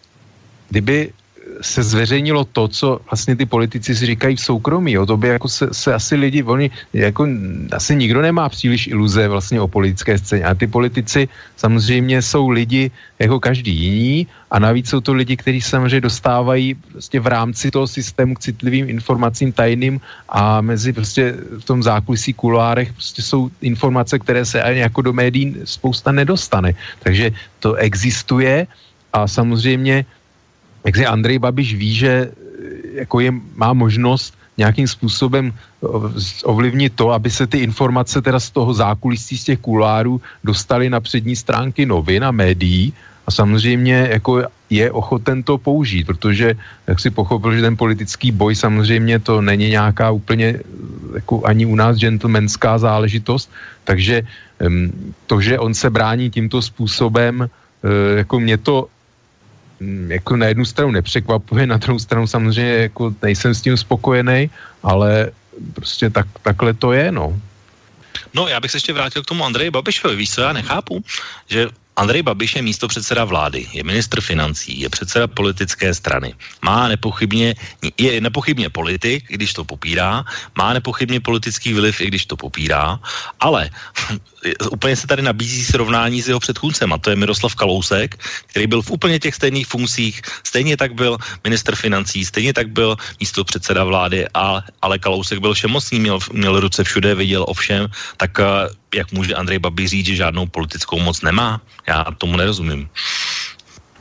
D: kdyby se zveřejnilo to, co vlastně ty politici si říkají v soukromí, jo, to by jako se, se asi lidi, oni, jako asi nikdo nemá příliš iluze vlastně o politické scéně. A ty politici samozřejmě jsou lidi jako každý jiný a navíc jsou to lidi, kteří samozřejmě dostávají prostě v rámci toho systému k citlivým informacím tajným a mezi prostě v tom zákulisí kuloárech prostě jsou informace, které se ani jako do médií spousta nedostane. Takže to existuje a samozřejmě jak si Andrej Babiš ví, že jako je, má možnost nějakým způsobem ovlivnit to, aby se ty informace teda z toho zákulisí, z těch kulárů dostaly na přední stránky novin a médií a samozřejmě jako je ochoten to použít, protože jak si pochopil, že ten politický boj samozřejmě to není nějaká úplně jako ani u nás gentlemanská záležitost, takže to, že on se brání tímto způsobem, jako mě to jako na jednu stranu nepřekvapuje, na druhou stranu samozřejmě jako nejsem s tím spokojený, ale prostě tak, takhle to je, no.
C: No, já bych se ještě vrátil k tomu Andreji Babišovi. Víš, co já nechápu? Že Andrej Babiš je místopředseda vlády, je ministr financí, je předseda politické strany. Má nepochybně, je nepochybně politik, i když to popírá, má nepochybně politický vliv, i když to popírá, ale úplně se tady nabízí srovnání s jeho předchůdcem, a to je Miroslav Kalousek, který byl v úplně těch stejných funkcích, stejně tak byl ministr financí, stejně tak byl místopředseda vlády, a, ale Kalousek byl všemocný, měl, měl ruce všude, viděl o všem, tak jak může Andrej Babiš říct, že žádnou politickou moc nemá? Já tomu nerozumím.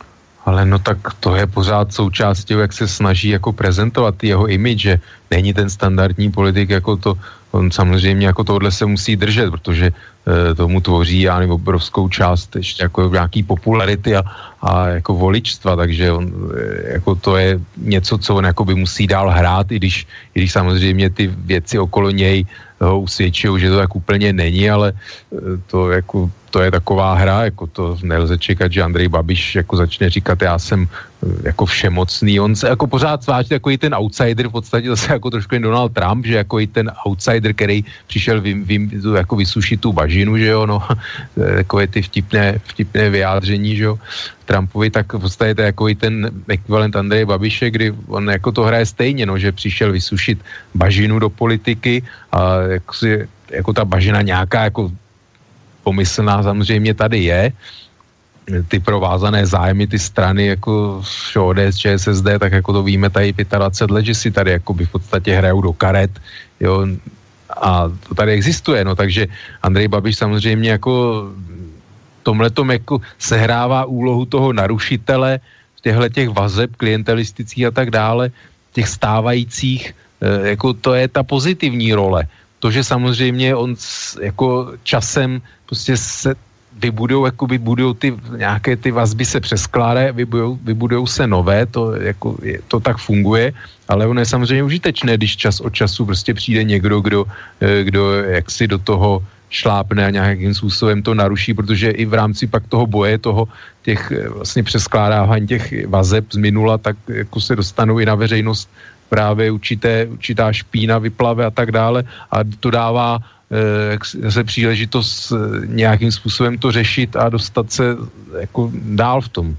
D: Ale no tak to je pořád součástí, jak se snaží jako prezentovat jeho image, že není ten standardní politik, jako to, on samozřejmě jako tohle se musí držet, protože e, tomu tvoří, já nevím, obrovskou část ještě jako nějaký popularity a, a jako voličstva, takže on, e, jako to je něco, co on jako by musí dál hrát, i když, i když samozřejmě ty věci okolo něj ho usvědčují, že to tak úplně není, ale e, to jako to je taková hra, jako to nelze čekat, že Andrej Babiš jako začne říkat, já jsem jako všemocný, on se jako pořád sváží takový ten outsider, v podstatě zase jako trošku jen Donald Trump, že jako i ten outsider, který přišel vy, vy, jako vysušit tu bažinu, že jo, no, takové ty vtipné, vtipné vyjádření, že jo, Trumpovi, tak v podstatě to je jako i ten ekvivalent Andreje Babiše, kdy on jako to hraje stejně, no, že přišel vysušit bažinu do politiky a jako, si, jako ta bažina nějaká jako pomyslná samozřejmě tady je, ty provázané zájmy, ty strany jako O D S, Č S S D, tak jako to víme tady dvacet pět let, že si tady jako by v podstatě hrajou do karet, jo, a to tady existuje, no, takže Andrej Babiš samozřejmě jako tomhletom jako sehrává úlohu toho narušitele těchto těch vazeb klientelistických a tak dále, těch stávajících, jako to je ta pozitivní role. To, že samozřejmě on jako časem prostě se vybudou, jakoby budou ty nějaké ty vazby se přeskládají, vybudou, vybudou se nové, to, jako, je, to tak funguje, ale ono je samozřejmě užitečné, když čas od času prostě přijde někdo, kdo, kdo jaksi do toho šlápne a nějakým způsobem to naruší, protože i v rámci pak toho boje, toho těch vlastně přeskládávání těch vazeb z minula, tak jako se dostanou i na veřejnost právě určité, určitá špína, vyplave a tak dále a to dává e, se příležitost e, nějakým způsobem to řešit a dostat se jako dál v tom.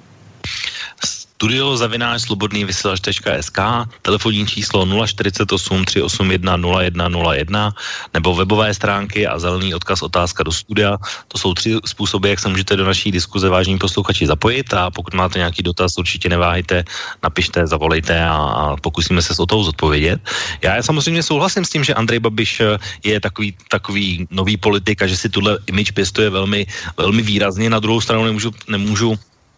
C: Studio zavináč slobodný vysílač tečka es ká, telefonní číslo nula čtyřicet osm tři osm jedna nula jedna nula jedna nebo webové stránky a zelený odkaz otázka do studia. To jsou tři způsoby, jak se můžete do naší diskuze, vážení posluchači, zapojit a pokud máte nějaký dotaz, určitě neváhejte, napište, zavolejte a, a pokusíme se s o toho zodpovědět. Já samozřejmě souhlasím s tím, že Andrej Babiš je takový, takový nový politik a že si tuhle image pěstuje velmi, velmi výrazně. Na druhou stranu nemůžu, nemůžu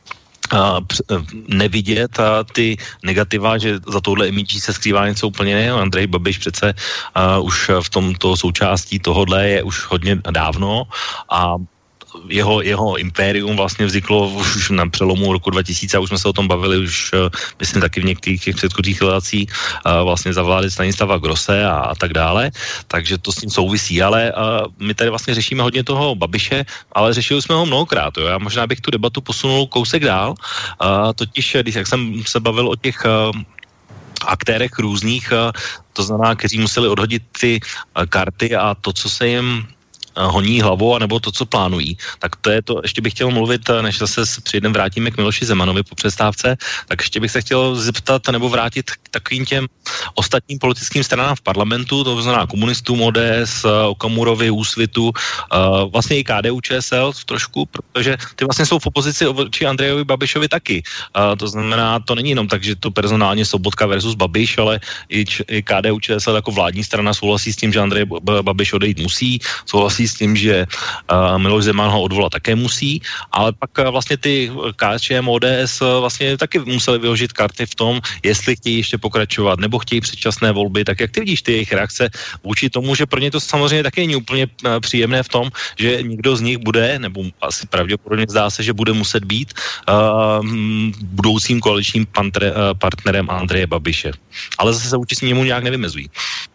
C: Uh, nevidět a ty negativa, že za touhle imidží se skrývá něco úplně jiného. Andrej Babiš přece uh, už v tomto součástí tohodle je už hodně dávno a jeho, jeho impérium vlastně vzniklo už na přelomu roku dva tisíce a už jsme se o tom bavili už, myslím, taky v některých těch předchozích relacích vlastně za vlády Stanislava Grosse a, a tak dále, takže to s tím souvisí, ale a, my tady vlastně řešíme hodně toho Babiše, ale řešili jsme ho mnohokrát, jo. Já možná bych tu debatu posunul kousek dál, a, totiž, když jak jsem se bavil o těch a, aktérech různých, a, to znamená, kteří museli odhodit ty a, karty a to, co se jim honí hlavou, anebo to, co plánují. Tak to je to, ještě bych chtěl mluvit, než zase přijdem, vrátíme k Miloši Zemanovi po přestávce, tak ještě bych se chtěl zeptat nebo vrátit k takovým těm ostatním politickým stranám v parlamentu, to znamená komunistům, O D S, Okamurovi, Úsvitu, vlastně i K D U Č S L trošku, protože ty vlastně jsou v opozici vůči Andrejovi Babišovi taky. To znamená, to není jenom tak, že to personálně Sobotka versus Babiš, ale i, i K D U Č S L jako vládní strana souhlasí s tím, že Andrej Babiš odejít musí, souhlasí s tím, že uh, Miloš Zeman ho odvolat také musí, ale pak uh, vlastně ty K S Č M, O D S uh, vlastně taky museli vyložit karty v tom, jestli chtějí ještě pokračovat, nebo chtějí předčasné volby, tak jak ty vidíš ty jejich reakce vůči tomu, že pro ně to samozřejmě taky není úplně uh, příjemné v tom, že někdo z nich bude, nebo asi pravděpodobně zdá se, že bude muset být uh, budoucím koaličním pantre, uh, partnerem Andreje Babiše. Ale zase se vůči němu nějak nevymezují.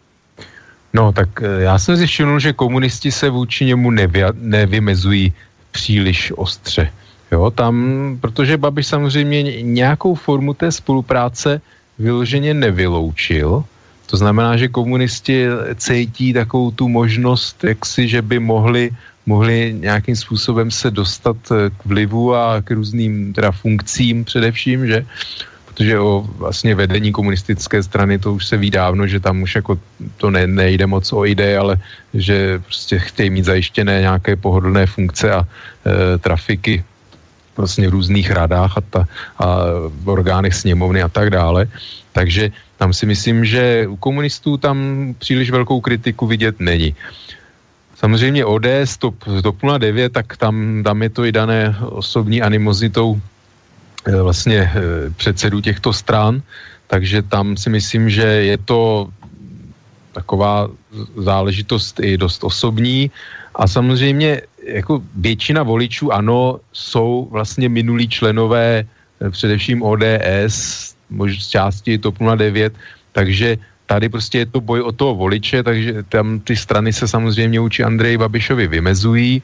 D: No, tak já jsem si všiml, že komunisti se vůči němu nevy, nevymezují příliš ostře. Jo, tam, protože Babiš samozřejmě nějakou formu té spolupráce vyloženě nevyloučil. To znamená, že komunisti cítí takovou tu možnost, jaksi, že by mohli, mohli nějakým způsobem se dostat k vlivu a k různým teda funkcím především, že protože o vlastně vedení komunistické strany to už se ví dávno, že tam už jako to ne, nejde moc o ideje, ale že prostě chtějí mít zajištěné nějaké pohodlné funkce a e, trafiky vlastně v různých radách a, ta, a v orgánech sněmovny a tak dále. Takže tam si myslím, že u komunistů tam příliš velkou kritiku vidět není. Samozřejmě O D S, TOP nula devět, tak tam, tam je to i dané osobní animozitou vlastně předsedů těchto stran, takže tam si myslím, že je to taková záležitost i dost osobní a samozřejmě jako většina voličů ANO jsou vlastně minulí členové především O D S, možná z části TOP nula devět, takže tady prostě je to boj o toho voliče, takže tam ty strany se samozřejmě vůči Andreji Babišovi vymezují.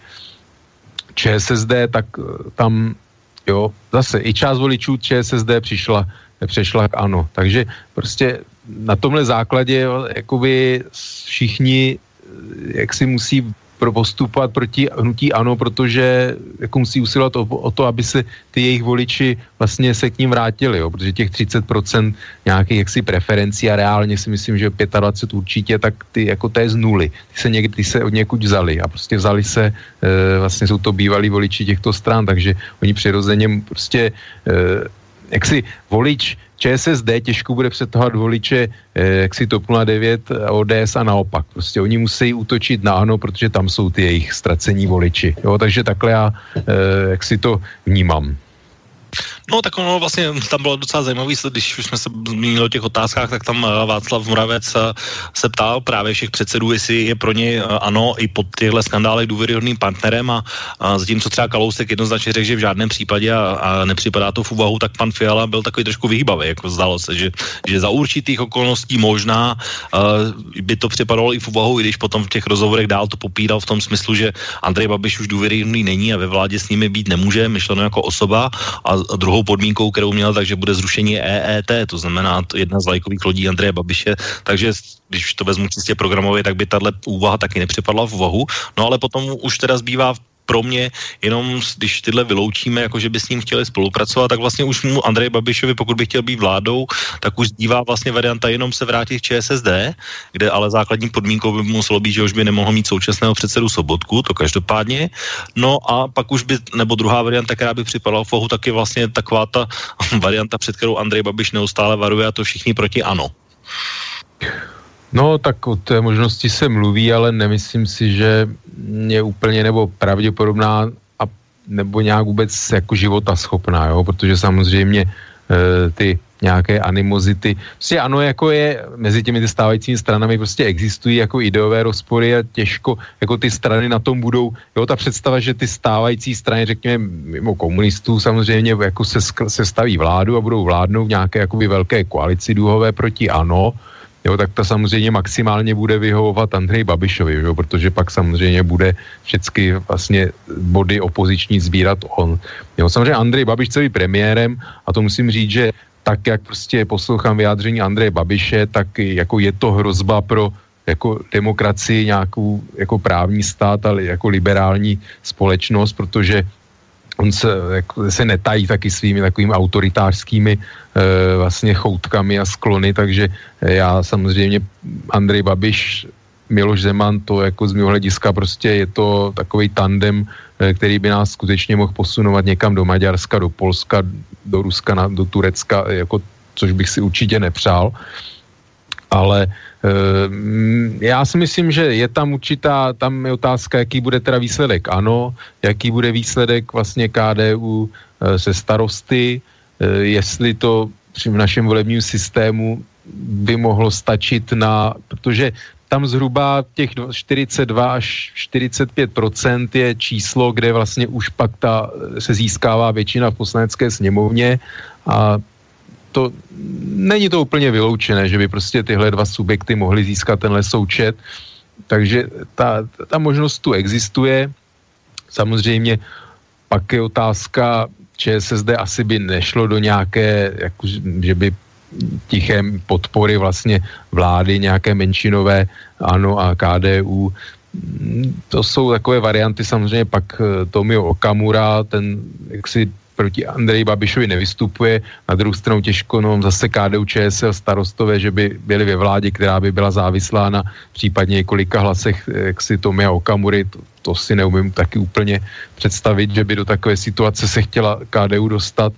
D: ČSSD, tak tam, jo, zase i část voličů ČSSD přišla, přešla k ANO. Takže prostě na tomhle základě, jo, jakoby všichni jak si musí postupovat proti hnutí ANO, protože jako musí usilovat o, o to, aby se ty jejich voliči vlastně se k ním vrátili, jo, protože těch třicet procent nějakých jaksi preferencí a reálně si myslím, že dvacet pět určitě, tak ty jako to je z nuly. Ty se někdy ty se od někud vzali a prostě vzali se, e, vlastně jsou to bývalí voliči těchto stran, takže oni přirozeně prostě e, jaksi volič ČSSD těžko bude přetahovat voliče eh, jaksi TOP nula devět, O D S a naopak. Prostě oni musí útočit na ANO, protože tam jsou ty jejich ztracení voliči. Jo, takže takhle já eh, jaksi to vnímám.
C: No tak ono vlastně tam bylo docela zajímavý, když už jsme se zmínili o těch otázkách, tak tam Václav Moravec se ptal právě všech předsedů, jestli je pro ně ANO i pod těchto skandálech důvěryhodným partnerem a, a zatímco třeba Kalousek jednoznačně řekl, že v žádném případě a, a nepřipadá to v úvahu, tak pan Fiala byl takový trošku vyhýbavý, jako zdálo se, že, že za určitých okolností možná uh, by to připadalo i v úvahu, i když potom v těch rozhovorech dál to popíral v tom smyslu, že Andrej Babiš už důvěryhodný není a ve vládě s nimi být nemůže, myšleno jako osoba a druhou podmínkou, kterou měl, takže bude zrušení E E T, to znamená jedna z vlajkových lodí Andreje Babiše, takže když to vezmu čistě programově, tak by tahle úvaha taky nepřipadla v úvahu, no ale potom už teda zbývá pro mě jenom, když tyhle vyloučíme, jako že by s ním chtěli spolupracovat, tak vlastně už mu Andrej Babišovi, pokud by chtěl být vládou, tak už zbývá vlastně varianta jenom se vrátit k ČSSD, kde ale základní podmínkou by muselo být, že už by nemohl mít současného předsedu Sobotku, to každopádně. No a pak už by, nebo druhá varianta, která by připadala v úvahu, tak je vlastně taková ta varianta, před kterou Andrej Babiš neustále varuje, a to všichni proti ANO.
D: No, tak o té možnosti se mluví, ale nemyslím si, že je úplně nebo pravděpodobná a nebo nějak vůbec jako života schopná, jo, protože samozřejmě e, ty nějaké animozity, prostě ano, jako je mezi těmi stávajícími stranami prostě existují jako ideové rozpory a těžko, jako ty strany na tom budou, jo, ta představa, že ty stávající strany, řekněme, mimo komunistů samozřejmě jako se, se staví vládu a budou vládnout v nějaké jakoby velké koalici důhové proti ANO, jo, tak to samozřejmě maximálně bude vyhovovat Andreji Babišovi, jo, protože pak samozřejmě bude všechny vlastně body opoziční sbírat on. Jo, samozřejmě Andrej Babiš chce být premiérem a to musím říct, že tak, jak prostě poslouchám vyjádření Andreje Babiše, tak jako je to hrozba pro jako demokracii, nějakou jako právní stát, ale jako liberální společnost, protože on se, jako, se netají taky svými takovými autoritářskými e, vlastně choutkami a sklony, takže já samozřejmě Andrej Babiš, Miloš Zeman, to jako z mého hlediska prostě je to takovej tandem, e, který by nás skutečně mohl posunovat někam do Maďarska, do Polska, do Ruska, na, do Turecka, jako, což bych si určitě nepřál. Ale já si myslím, že je tam určitá, tam je otázka, jaký bude teda výsledek ANO, jaký bude výsledek vlastně K D U se starosty, jestli to při našem volebním systému by mohlo stačit na, protože tam zhruba těch čtyřicet dva až čtyřicet pět procent je číslo, kde vlastně už pak ta, se získává většina v poslanecké sněmovně a to není to úplně vyloučené, že by prostě tyhle dva subjekty mohly získat tenhle součet, takže ta, ta možnost tu existuje. Samozřejmě pak je otázka, ČSSD asi by nešlo do nějaké, jako, že by tiché podpory vlastně vlády, nějaké menšinové, ANO a K D U. To jsou takové varianty, samozřejmě pak Tomio Okamura, ten jaksi proti Andreji Babišovi nevystupuje, na druhou stranu těžko, no zase K D U Č S L starostové, že by byli ve vládě, která by byla závislá na případně několika hlasech, jak si Tomia Okamury, to, to si neumím taky úplně představit, že by do takové situace se chtěla K D U dostat.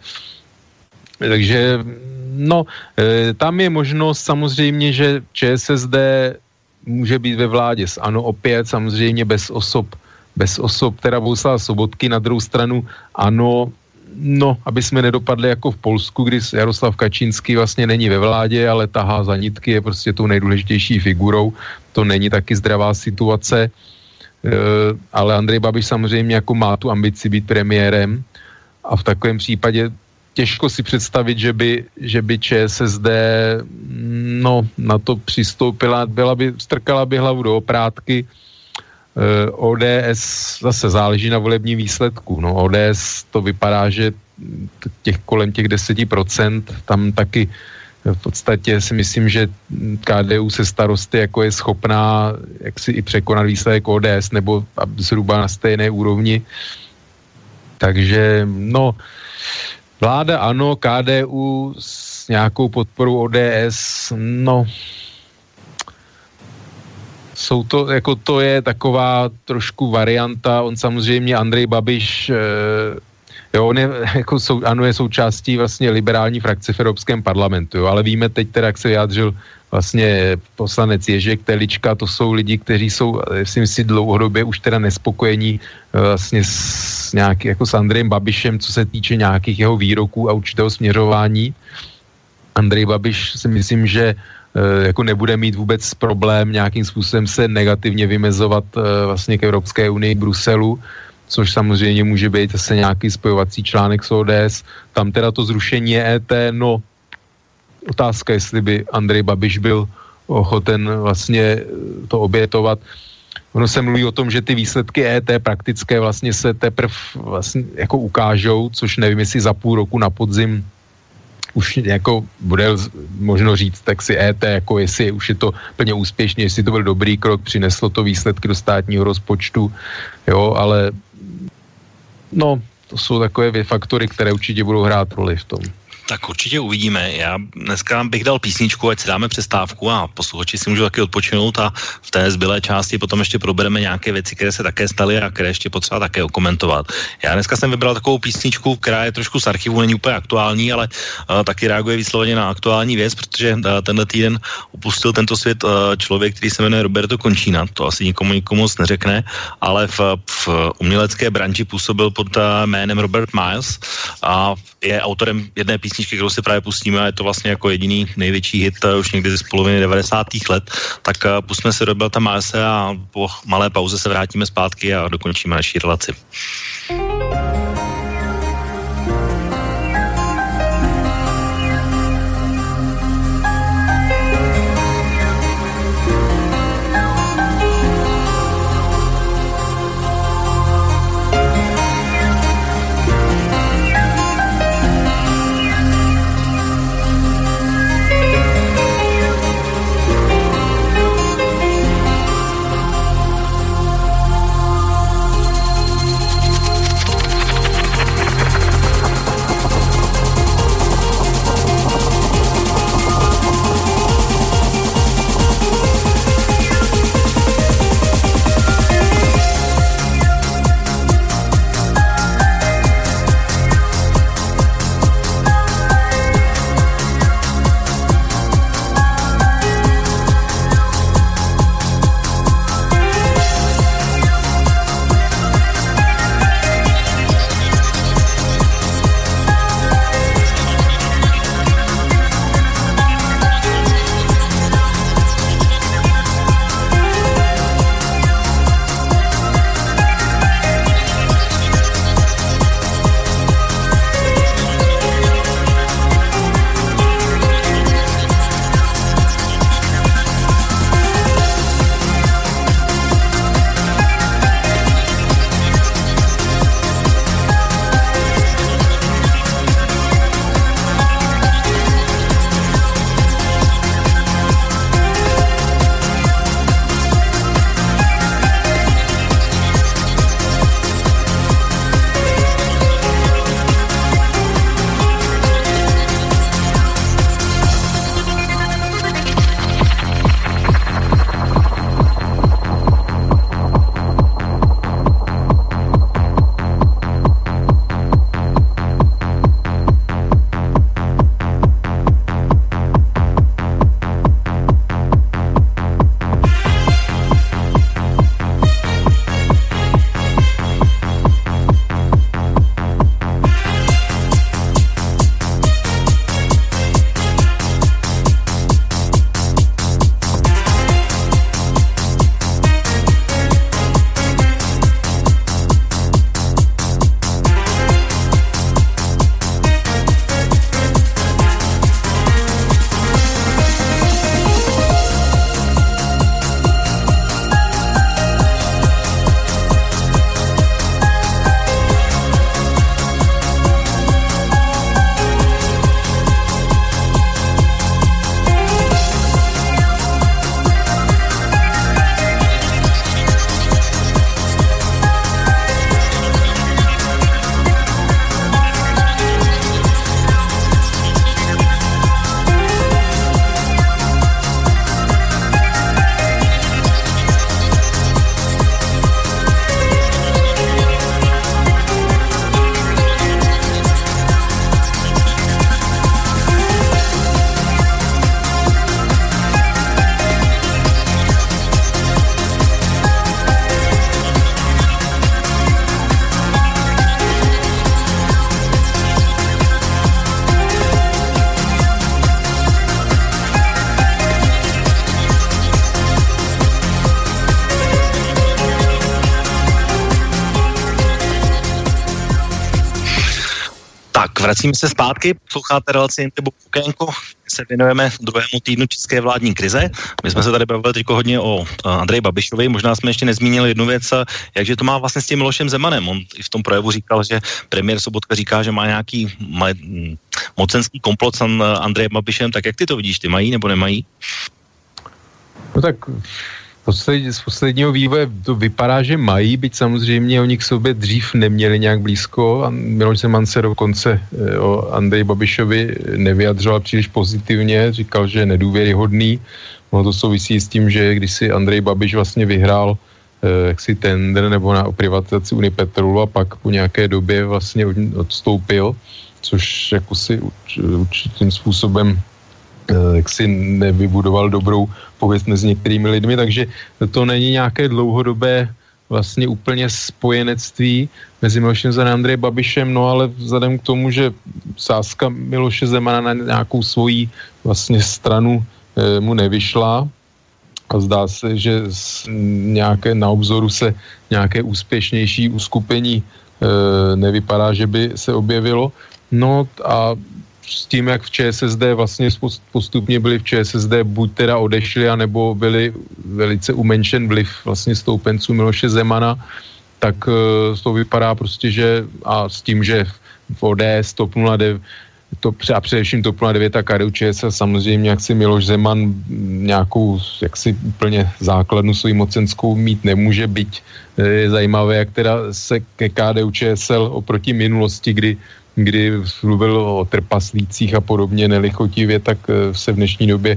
D: Takže no, e, tam je možnost samozřejmě, že ČSSD může být ve vládě s ANO opět, samozřejmě bez osob, bez osob, teda Bohuslava Sobotky, na druhou stranu ANO no, aby jsme nedopadli jako v Polsku, kdy Jaroslav Kačínský vlastně není ve vládě, ale tahá za nitky, je prostě tou nejdůležitější figurou. To není taky zdravá situace, e, ale Andrej Babiš samozřejmě jako má tu ambici být premiérem a v takovém případě těžko si představit, že by, že by ČSSD no, na to přistoupila, byla by, strkala by hlavu do oprátky. O D S zase záleží na volebním výsledku. No, O D S to vypadá, že těch kolem těch deset procent, tam taky v podstatě si myslím, že K D U se starosty jako je schopná jak si i překonat výsledek O D S nebo zhruba na stejné úrovni. Takže no, vláda ano, K D U s nějakou podporou O D S, no jsou to, jako to je taková trošku varianta, on samozřejmě Andrej Babiš, e, jo, on je, jako sou, ano, je součástí vlastně liberální frakce v Evropském parlamentu, jo, ale víme teď teda, jak se vyjádřil vlastně poslanec Ježek Telička, to jsou lidi, kteří jsou, si myslím, dlouhodobě už teda nespokojení vlastně s nějaký, jako s Andrejem Babišem, co se týče nějakých jeho výroků a určitého směřování. Andrej Babiš si myslím, že jako nebude mít vůbec problém nějakým způsobem se negativně vymezovat vlastně k Evropské unii, k Bruselu, což samozřejmě může být zase nějaký spojovací článek s O D S. Tam teda to zrušení E T, no otázka, jestli by Andrej Babiš byl ochoten vlastně to obětovat. Ono se mluví o tom, že ty výsledky E T praktické vlastně se teprve vlastně jako ukážou, což nevím, jestli za půl roku na podzim už jako bude možno říct, tak si E T, jako jestli už je to plně úspěšně, jestli to byl dobrý krok, přineslo to výsledky do státního rozpočtu, jo, ale no, to jsou takové faktory, které určitě budou hrát roli v tom.
C: Tak určitě uvidíme. Já dneska bych dal písničku, ať si dáme přestávku a posluchači si můžou taky odpočinout a v té zbylé části potom ještě probereme nějaké věci, které se také staly a které ještě potřeba také okomentovat. Já dneska jsem vybral takovou písničku, která je trošku z archivu, není úplně aktuální, ale uh, taky reaguje výslovně na aktuální věc, protože uh, tenhle týden opustil tento svět uh, člověk, který se jmenuje Roberto Conchina. To asi nikomu nikomu moc neřekne, ale v, v umělecké branži působil pod uh, jménem Robert Miles a je autorem jedné písničky, kterou si právě pustíme a je to vlastně jako jediný největší hit už někdy z poloviny devadesátých let, tak pustíme si Roberta Milese a po malé pauze se vrátíme zpátky a dokončíme naši relaci. Vracíme se zpátky, posloucháte relaci Intibu Okénko, se věnujeme druhému týdnu české vládní krize. My jsme se tady bavili teď hodně o Andreji Babišovi, možná jsme ještě nezmínili jednu věc, jakže to má vlastně s tím Milošem Zemanem. On i v tom projevu říkal, že premiér Sobotka říká, že má nějaký má, mocenský komplot s Andrejem Babišem, tak jak ty to vidíš, ty mají nebo nemají?
D: No tak Posled, z posledního vývoje to vypadá, že mají, byť samozřejmě oni k sobě dřív neměli nějak blízko. Miloš Zeman se dokonce o Andreji Babišovi nevyjadřoval příliš pozitivně, říkal, že je nedůvěryhodný. No to souvisí s tím, že když si Andrej Babiš vlastně vyhrál eh, jaksi tender nebo na privatizaci Unipetrolu a pak po nějaké době vlastně odstoupil, což jako si urč, určitým způsobem jak si nevybudoval dobrou pověst mezi některými lidmi, takže to není nějaké dlouhodobé vlastně úplně spojenectví mezi Milošem Zemanem a Andrejem Babišem, no ale vzhledem k tomu, že sázka Miloše Zemana na nějakou svoji vlastně stranu e, mu nevyšla a zdá se, že z nějaké, na obzoru se nějaké úspěšnější uskupení e, nevypadá, že by se objevilo, no a s tím, jak v ČSSD vlastně postupně byli v ČSSD buď teda odešli, anebo byli velice umenšen vliv vlastně stoupenců Miloše Zemana, tak to vypadá prostě, že a s tím, že v O D S, TOP nula devět, to, a především TOP nula devět a K D U Č S L samozřejmě, jak si Miloš Zeman nějakou jaksi úplně základnu svoji mocenskou mít nemůže, byť je zajímavé, jak teda se ke K D U Č S L oproti minulosti, kdy kdy mluvil o trpaslících a podobně nelichotivě, tak se v dnešní době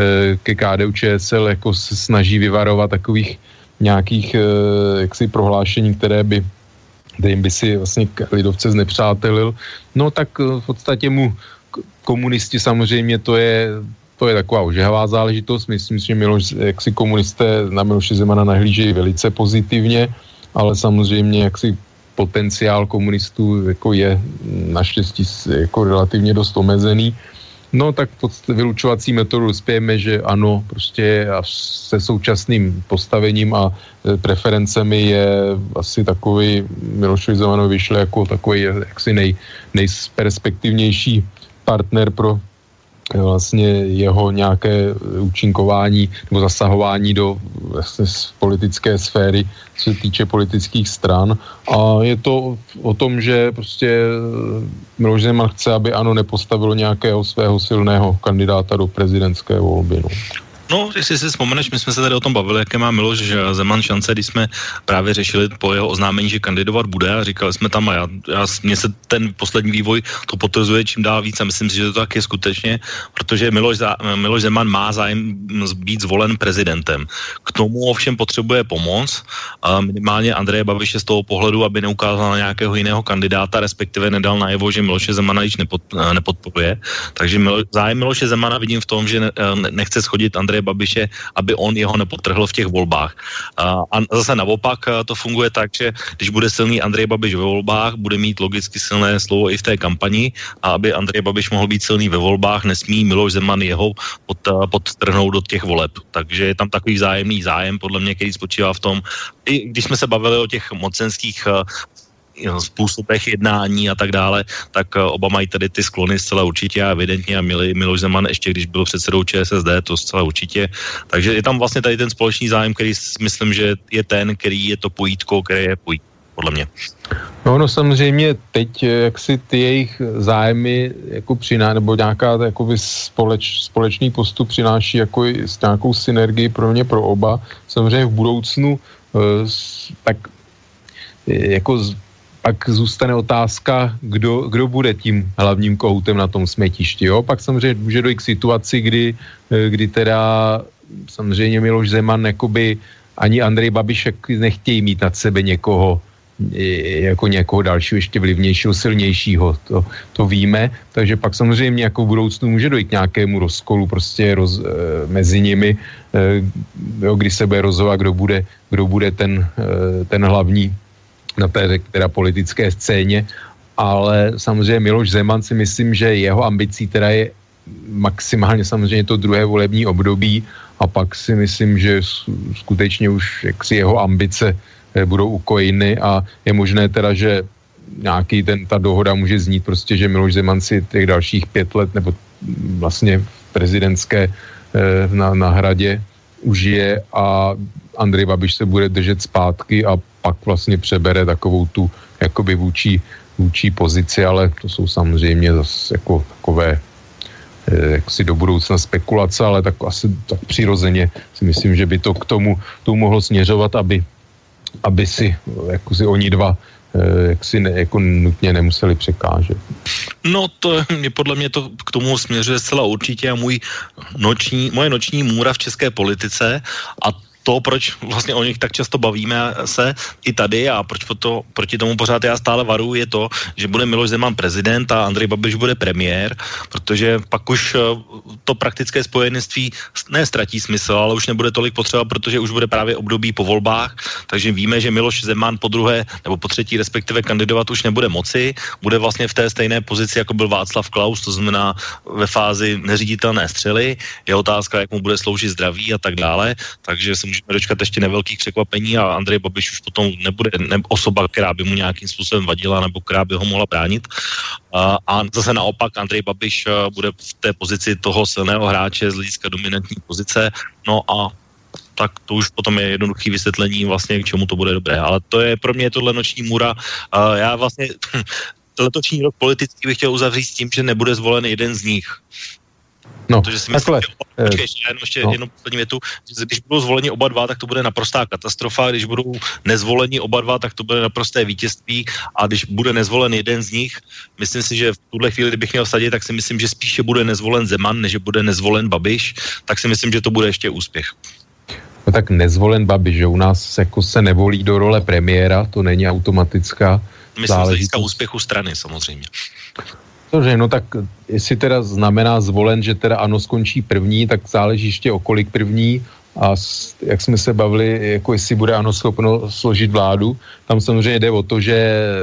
D: ke K D U Č S L jako se snaží vyvarovat takových nějakých jaksi prohlášení, které by, kterým by si vlastně lidovce znepřátelil. No tak v podstatě mu komunisti samozřejmě to je, to je taková ožehavá záležitost. Myslím si, že Miloš, jaksi komunisté na Miloše Zemana nahlížejí velice pozitivně, ale samozřejmě jaksi potenciál komunistů jako je naštěstí jako relativně dost omezený. No tak pod vylučovací metodu dospějeme, že ano, prostě se současným postavením a preferencemi je asi takový Milošovi Zemanovi vyšle jako takový jaksi nej, nejperspektivnější partner pro vlastně jeho nějaké účinkování nebo zasahování do vlastně politické sféry, co se týče politických stran. A je to o tom, že prostě Miloš Zeman chce, aby ANO nepostavilo nějakého svého silného kandidáta do prezidentské volby. No.
C: No, jestli si vzpomeneš, my jsme se tady o tom bavili, jaké má Miloš Zeman šance, když jsme právě řešili po jeho oznámení, že kandidovat bude a říkali jsme tam a já, já mně se ten poslední vývoj to potvrzuje čím dál víc a myslím si, že to tak je skutečně, protože Miloš, Miloš Zeman má zájem být zvolen prezidentem. K tomu ovšem potřebuje pomoc, minimálně Andreje Babiše z toho pohledu, aby neukázal na nějakého jiného kandidáta, respektive nedal najevo, že Miloše Zemana již nepod, nepodporuje. Takže Milo, zájem Miloše Zemana vidím v tom, že ne, nechce schodit Andreje Babiše, aby on jeho nepotrhl v těch volbách. A zase naopak to funguje tak, že když bude silný Andrej Babiš ve volbách, bude mít logicky silné slovo i v té kampani a aby Andrej Babiš mohl být silný ve volbách, nesmí Miloš Zeman jeho pod, podtrhnout do těch voleb. Takže je tam takový vzájemný zájem, podle mě, který spočívá v tom, i když jsme se bavili o těch mocenských způsobech jednání a tak dále, tak oba mají tady ty sklony zcela určitě a evidentně a měli Miloš Zeman ještě, když byl předsedou ČSSD, to zcela určitě. Takže je tam vlastně tady ten společný zájem, který myslím, že je ten, který je to pojítko, které je pojítko, podle mě.
D: No, no samozřejmě teď, jak si ty jejich zájmy jako přiná, nebo nějaká jakoby společ, společný postup přináší jako s nějakou synergii pro mě, pro oba. Samozřejmě v budoucnu tak jako pak zůstane otázka, kdo, kdo bude tím hlavním kohoutem na tom smetišti. Jo? Pak samozřejmě může dojít k situaci, kdy, kdy teda samozřejmě Miloš Zeman jakoby ani Andrej Babiš nechtějí mít nad sebe někoho jako někoho dalšího, ještě vlivnějšího, silnějšího, to, to víme, takže pak samozřejmě jako v budoucnu může dojít k nějakému rozkolu prostě roz, e, mezi nimi, e, jo, kdy se bude rozhodovat, kdo bude, kdo bude ten, e, ten hlavní na té teda politické scéně, ale samozřejmě Miloš Zeman si myslím, že jeho ambicí teda je maximálně samozřejmě to druhé volební období a pak si myslím, že skutečně už jaksi jeho ambice budou ukojeny a je možné teda, že nějaký ten, ta dohoda může znít prostě, že Miloš Zeman si těch dalších pět let nebo vlastně prezidentské na, na hradě užije a Andrej Babiš se bude držet zpátky a pak vlastně přebere takovou tu jakoby vůči, vůči pozici, ale to jsou samozřejmě zase jako takové jaksi do budoucna spekulace, ale tak asi tak přirozeně si myslím, že by to k tomu, tomu mohlo směřovat, aby, aby si jako si oni dva jak si ne, jako nutně nemuseli překážet.
C: No to je podle mě to k tomu směřuje zcela určitě a můj noční, moje noční můra v české politice a to, proč vlastně o nich tak často bavíme se i tady a proč to, proti tomu pořád já stále varuju, je to, že bude Miloš Zeman prezident a Andrej Babiš bude premiér, protože pak už to praktické spojenectví ne ztratí smysl, ale už nebude tolik potřeba, protože už bude právě období po volbách, takže víme, že Miloš Zeman po druhé nebo po třetí respektive kandidovat už nebude moci, bude vlastně v té stejné pozici, jako byl Václav Klaus, to znamená ve fázi neříditelné střely, je otázka, jak mu bude sloužit zdraví a tak dále, takže se můžeme dočkat ještě nevelkých překvapení a Andrej Babiš už potom nebude ne, osoba, která by mu nějakým způsobem vadila nebo která by ho mohla bránit. A, a zase naopak Andrej Babiš bude v té pozici toho silného hráče z hlediska dominantní pozice. No a tak to už potom je jednoduché vysvětlení vlastně, k čemu to bude dobré. Ale to je pro mě tohle noční můra. A já vlastně letošní rok politický bych chtěl uzavřít s tím, že nebude zvolen jeden z nich.
D: No,
C: protože si myslím, že, počkej, ještě, jenom, ještě no. jednu poslední větu, že když budou zvoleni oba dva, tak to bude naprostá katastrofa, když budou nezvoleni oba dva, tak to bude naprosté vítězství a když bude nezvolen jeden z nich, myslím si, že v tuhle chvíli, kdybych měl vsadit, tak si myslím, že spíše bude nezvolen Zeman, než bude nezvolen Babiš, tak si myslím, že to bude ještě úspěch.
D: No tak nezvolen Babiš, že u nás jako se nevolí do role premiéra, to není automatická
C: myslím, že získá úspěchu strany samozřejmě.
D: Že no tak jestli teda znamená zvolen, že teda ANO skončí první, tak záleží ještě o kolik první a jak jsme se bavili, jako jestli bude ANO schopno složit vládu. Tam samozřejmě jde o to, že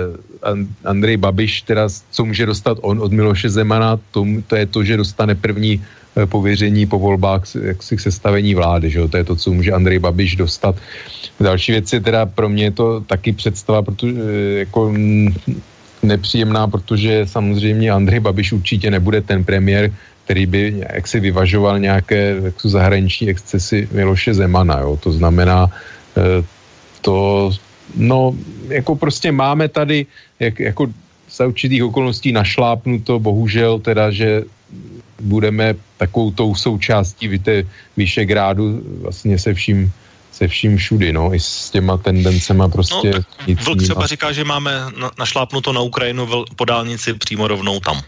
D: Andrej Babiš teda, co může dostat on od Miloše Zemana, to, to je to, že dostane první pověření po volbách jaksi k sestavení vlády, že jo? To je to, co může Andrej Babiš dostat. Další věc je teda pro mě je to taky představa, protože jako nepříjemná, protože samozřejmě Andrej Babiš určitě nebude ten premiér, který by jaksi vyvažoval nějaké jaksi zahraniční excesy Miloše Zemana, jo. To znamená, to, no, jako prostě máme tady, jak, jako za určitých okolností našlápnuto, bohužel teda, že budeme takovou tou součástí víte, Vyšegrádu vlastně se vším se vším všudy, no, i s těma tendencema prostě.
C: No, Vlk třeba říká, že máme na, našlápnuto na Ukrajinu vl, po dálnici přímo rovnou tam.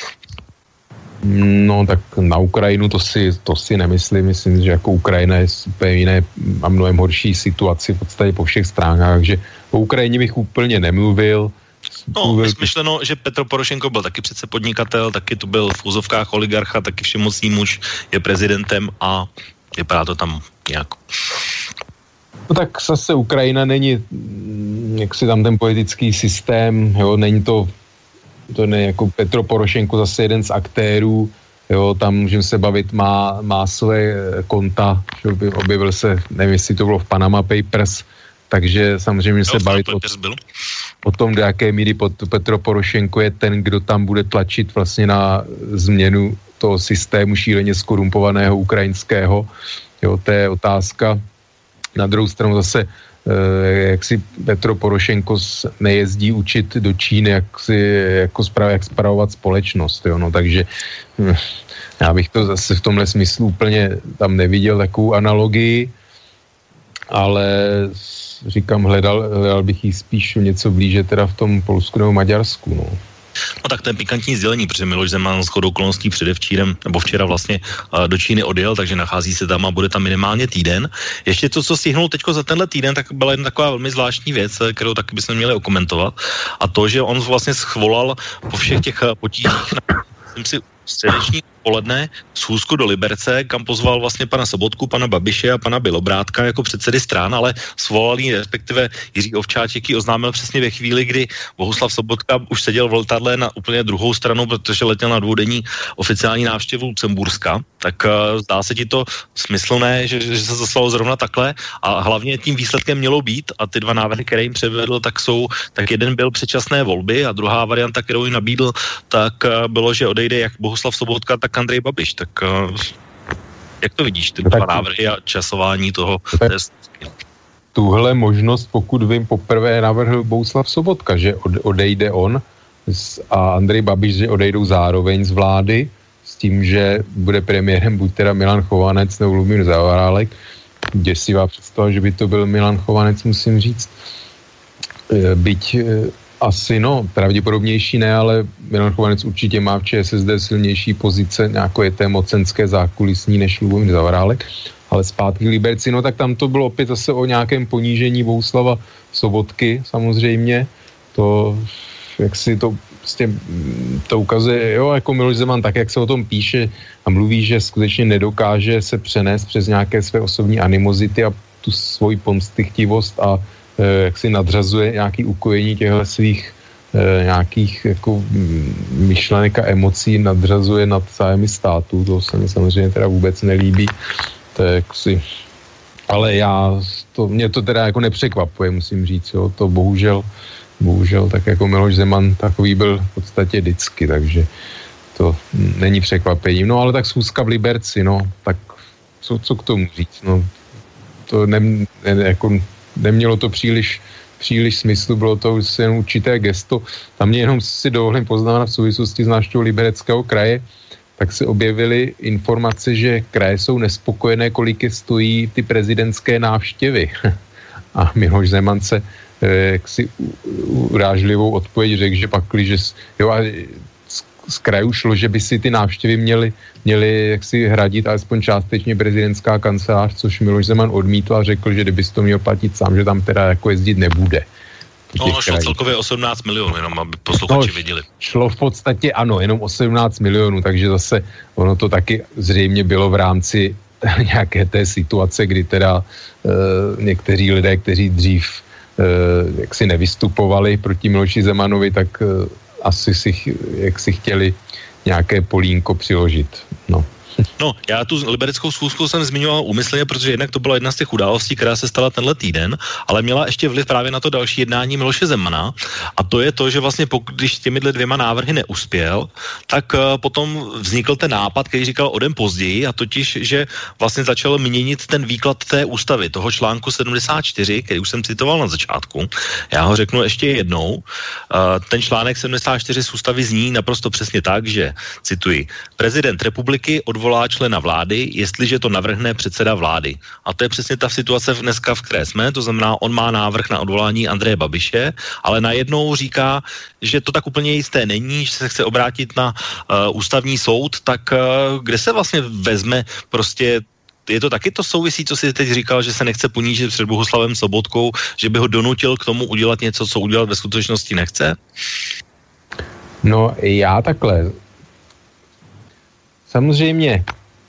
D: No, tak na Ukrajinu to si, to si nemyslím, myslím, že jako Ukrajina je úplně jiné a mnohem horší situaci v podstatě po všech stránkách, takže o Ukrajině bych úplně nemluvil.
C: No, mluvil... myšleno, že Petro Porošenko byl taky přece podnikatel, taky to byl v úzovkách oligarcha, taky všemocný muž, je prezidentem a vypadá to tam nějak.
D: No tak zase Ukrajina není, jak si tam ten politický systém, jo, není to, to ne jako Petro Porošenko zase jeden z aktérů, jo, tam můžeme se bavit, má, má své konta, že objevil se, nevím, jestli to bylo v Panama Papers, takže samozřejmě jo, se bavit o, o tom, do jaké míry Petro Porošenko je ten, kdo tam bude tlačit vlastně na změnu toho systému šíleně skorumpovaného ukrajinského, jo, to je otázka. Na druhou stranu zase, jak si Petro Porošenko nejezdí učit do Číny, jak si, jako sprav, jak spravovat společnost, jo, no, takže já bych to zase v tomhle smyslu úplně tam neviděl takovou analogii, ale říkám, hledal, hledal bych jí spíš něco blíže teda v tom Polsku nebo Maďarsku, no.
C: No tak to je pikantní sdělení, protože Miloš Zeman shodou okolností předevčírem, nebo včera vlastně uh, do Číny odjel, takže nachází se tam a bude tam minimálně týden. Ještě to, co stihnul teďko za tenhle týden, tak byla jedna taková velmi zvláštní věc, kterou taky bychom měli okomentovat. A to, že on vlastně schvolal po všech těch potížích na, myslím si, středeční poledne schůzku do Liberce, kam pozval vlastně pana Sobotku, pana Babiše a pana Bělobrádka jako předsedy strán, ale svolali, respektive Jiří Ovčáček ji oznámil přesně ve chvíli, kdy Bohuslav Sobotka už seděl v letadle na úplně druhou stranu, protože letěl na dvoudenní oficiální návštěvu Lucemburska. Tak uh, zdá se ti to smyslné, že, že se zaslalo zrovna takhle a hlavně tím výsledkem mělo být a ty dva návrhy, které jim předvedl, tak jsou, tak jeden byl předčasné volby a druhá varianta, kterou jim nabídl, tak uh, bylo, že odejde jak Bohuslav Sobotka, tak Andrej Babiš. Tak uh, jak to vidíš, ty dva návrhy a časování toho?
D: Tuhle možnost, pokud vím, poprvé navrhl Bohuslav Sobotka, že odejde on a Andrej Babiš, že odejdou zároveň z vlády s tím, že bude premiérem buď teda Milan Chovanec nebo Lubomír Zaorálek. Děsivá představa, že by to byl Milan Chovanec, musím říct. Byť asi, no, pravděpodobnější ne, ale Milan Chovanec určitě má v ČSSD silnější pozice, nějaké té mocenské zákulisní než Lubomír Zaorálek. Ale zpátky Liberci, no tak tam to bylo opět zase o nějakém ponížení Bohuslava Sobotky, samozřejmě. To, jak si to prostě, to ukazuje, jo, jako Miloš Zeman, tak jak se o tom píše a mluví, že skutečně nedokáže se přenést přes nějaké své osobní animozity a tu svoji pomstychtivost a e, jak si nadřazuje nějaký ukojení těchto svých e, nějakých jako myšlenek a emocí, nadřazuje nad zájmy státu, to se mi samozřejmě teda vůbec nelíbí. To je jaksi, ale já, to, mě to teda jako nepřekvapuje, musím říct, jo, to bohužel, bohužel, tak jako Miloš Zeman takový byl v podstatě vždycky, takže to není překvapením. No ale tak schůzka v Liberci, no, tak co, co k tomu říct, no, to ne, ne, jako nemělo to příliš, příliš smyslu, bylo to jen určité gesto. Tam mě jenom si dovolím poznamenat v souvislosti s návštěvou Libereckého kraje, tak se objevily informace, že kraje jsou nespokojené, kolik je stojí ty prezidentské návštěvy. A Miloš Zeman se eh, jaksi urážlivou odpověď řekl, že pakli, že jo, a z, z krajů šlo, že by si ty návštěvy měly, měly jaksi hradit alespoň částečně prezidentská kancelář, což Miloš Zeman odmítl a řekl, že kdyby si to měl platit sám, že tam teda jako jezdit nebude.
C: No, ono šlo celkově osmnáct milionů, jenom aby posluchači no, viděli.
D: Šlo v podstatě, ano, jenom osmnáct milionů, takže zase ono to taky zřejmě bylo v rámci nějaké té situace, kdy teda e, někteří lidé, kteří dřív e, jaksi nevystupovali proti Miloši Zemanovi, tak e, asi si, jak si chtěli nějaké polínko přiložit, no.
C: No, já tu libereckou schůzku jsem zmiňoval úmyslně, protože jednak to byla jedna z těch událostí, která se stala tenhle týden, ale měla ještě vliv právě na to další jednání Miloše Zemana a to je to, že vlastně pokud, když těmihle dvěma návrhy neuspěl, tak uh, potom vznikl ten nápad, který říkal o den později a totiž, že vlastně začal měnit ten výklad té ústavy, toho článku sedmdesát čtyři, který už jsem citoval na začátku. Já ho řeknu ještě jednou. Uh, ten článek sedmdesát čtyři z ústavy zní naprosto přesně tak, že, cituji, prezident republiky odvolá člena vlády, jestliže to navrhne předseda vlády. A to je přesně ta situace dneska, v které jsme, to znamená, on má návrh na odvolání Andreje Babiše, ale najednou říká, že to tak úplně jisté není, že se chce obrátit na uh, ústavní soud, tak uh, kde se vlastně vezme prostě. Je to taky to souvisí, co si teď říkal, že se nechce ponížit před Bohuslavem Sobotkou, že by ho donutil k tomu udělat něco, co udělat ve skutečnosti nechce?
D: No já takhle. Samozřejmě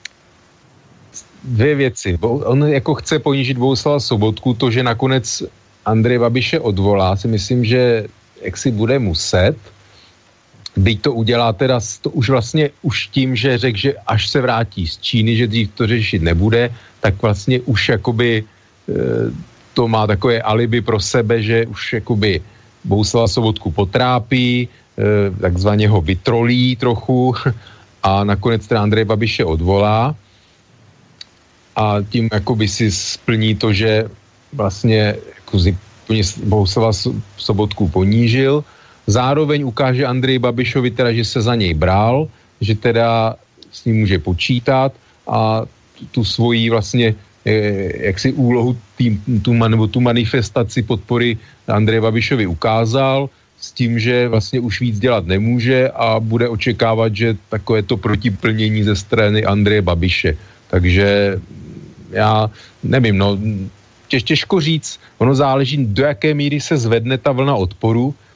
D: dvě věci. On jako chce ponížit Bohuslava Sobotku, to, že nakonec Andrej Babiše odvolá, si myslím, že jak si bude muset, byť to udělá teda to už vlastně už tím, že řekl, že až se vrátí z Číny, že dřív to řešit nebude, tak vlastně už jakoby e, to má takové alibi pro sebe, že už jakoby Bohuslava Sobotku potrápí, e, takzvaně ho vytrolí trochu a nakonec teda Andrej Babiše odvolá a tím jakoby si splní to, že vlastně jako Bohuslava Sobotku ponížil. Zároveň ukáže Andrej Babišovi teda, že se za něj bral, že teda s ním může počítat a tu svoji vlastně jaksi úlohu tý, tu, nebo tu manifestaci podpory Andreje Babišovi ukázal s tím, že vlastně už víc dělat nemůže a bude očekávat, že takové to protiplnění ze strany Andreje Babiše. Takže já nevím, no těž, těžko říct, ono záleží, do jaké míry se zvedne ta vlna odporu,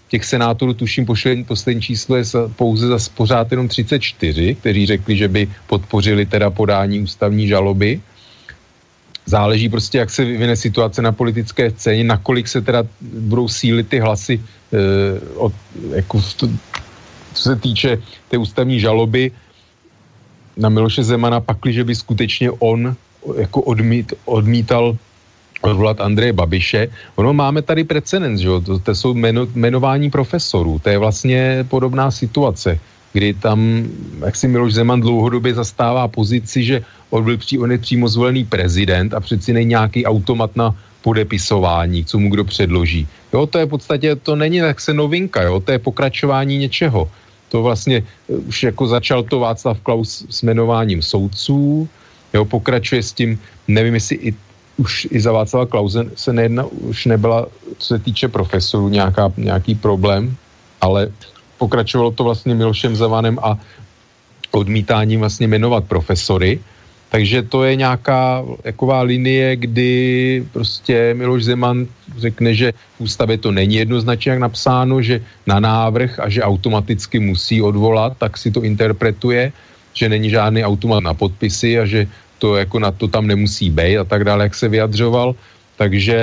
D: těch senátorů, tuším, poslední, poslední číslo je pouze za pořád jenom třicet čtyři, kteří řekli, že by podpořili teda podání ústavní žaloby. Záleží prostě, jak se vyvine situace na politické scéně, nakolik se teda budou sílit ty hlasy, eh, od, jako to, co se týče té ústavní žaloby na Miloše Zemana, pakliže by skutečně on jako odmít, odmítal odvolat Andreje Babiše. Ono máme tady precedens, že jo, to, to jsou jmeno, jmenování profesorů, to je vlastně podobná situace, kdy tam, jak si Miloš Zeman dlouhodobě zastává pozici, že on byl pří, on je přímo zvolený prezident a přeci není nějaký automat na podepisování, co mu kdo předloží. Jo, to je v podstatě, to není tak se novinka, jo, to je pokračování něčeho. To vlastně už jako začal to Václav Klaus s jmenováním soudců, jo, pokračuje s tím, nevím, jestli i už i za Václava Klause se nejedna, už nebyla, co se týče profesorů, nějaká, nějaký problém, ale pokračovalo to vlastně Milošem Zemanem a odmítáním vlastně jmenovat profesory. Takže to je nějaká jaková linie, kdy prostě Miloš Zeman řekne, že v ústavě to není jednoznačně jak napsáno, že na návrh a že automaticky musí odvolat, tak si to interpretuje, že není žádný automat na podpisy a že to jako na to tam nemusí být a tak dále, jak se vyjadřoval. Takže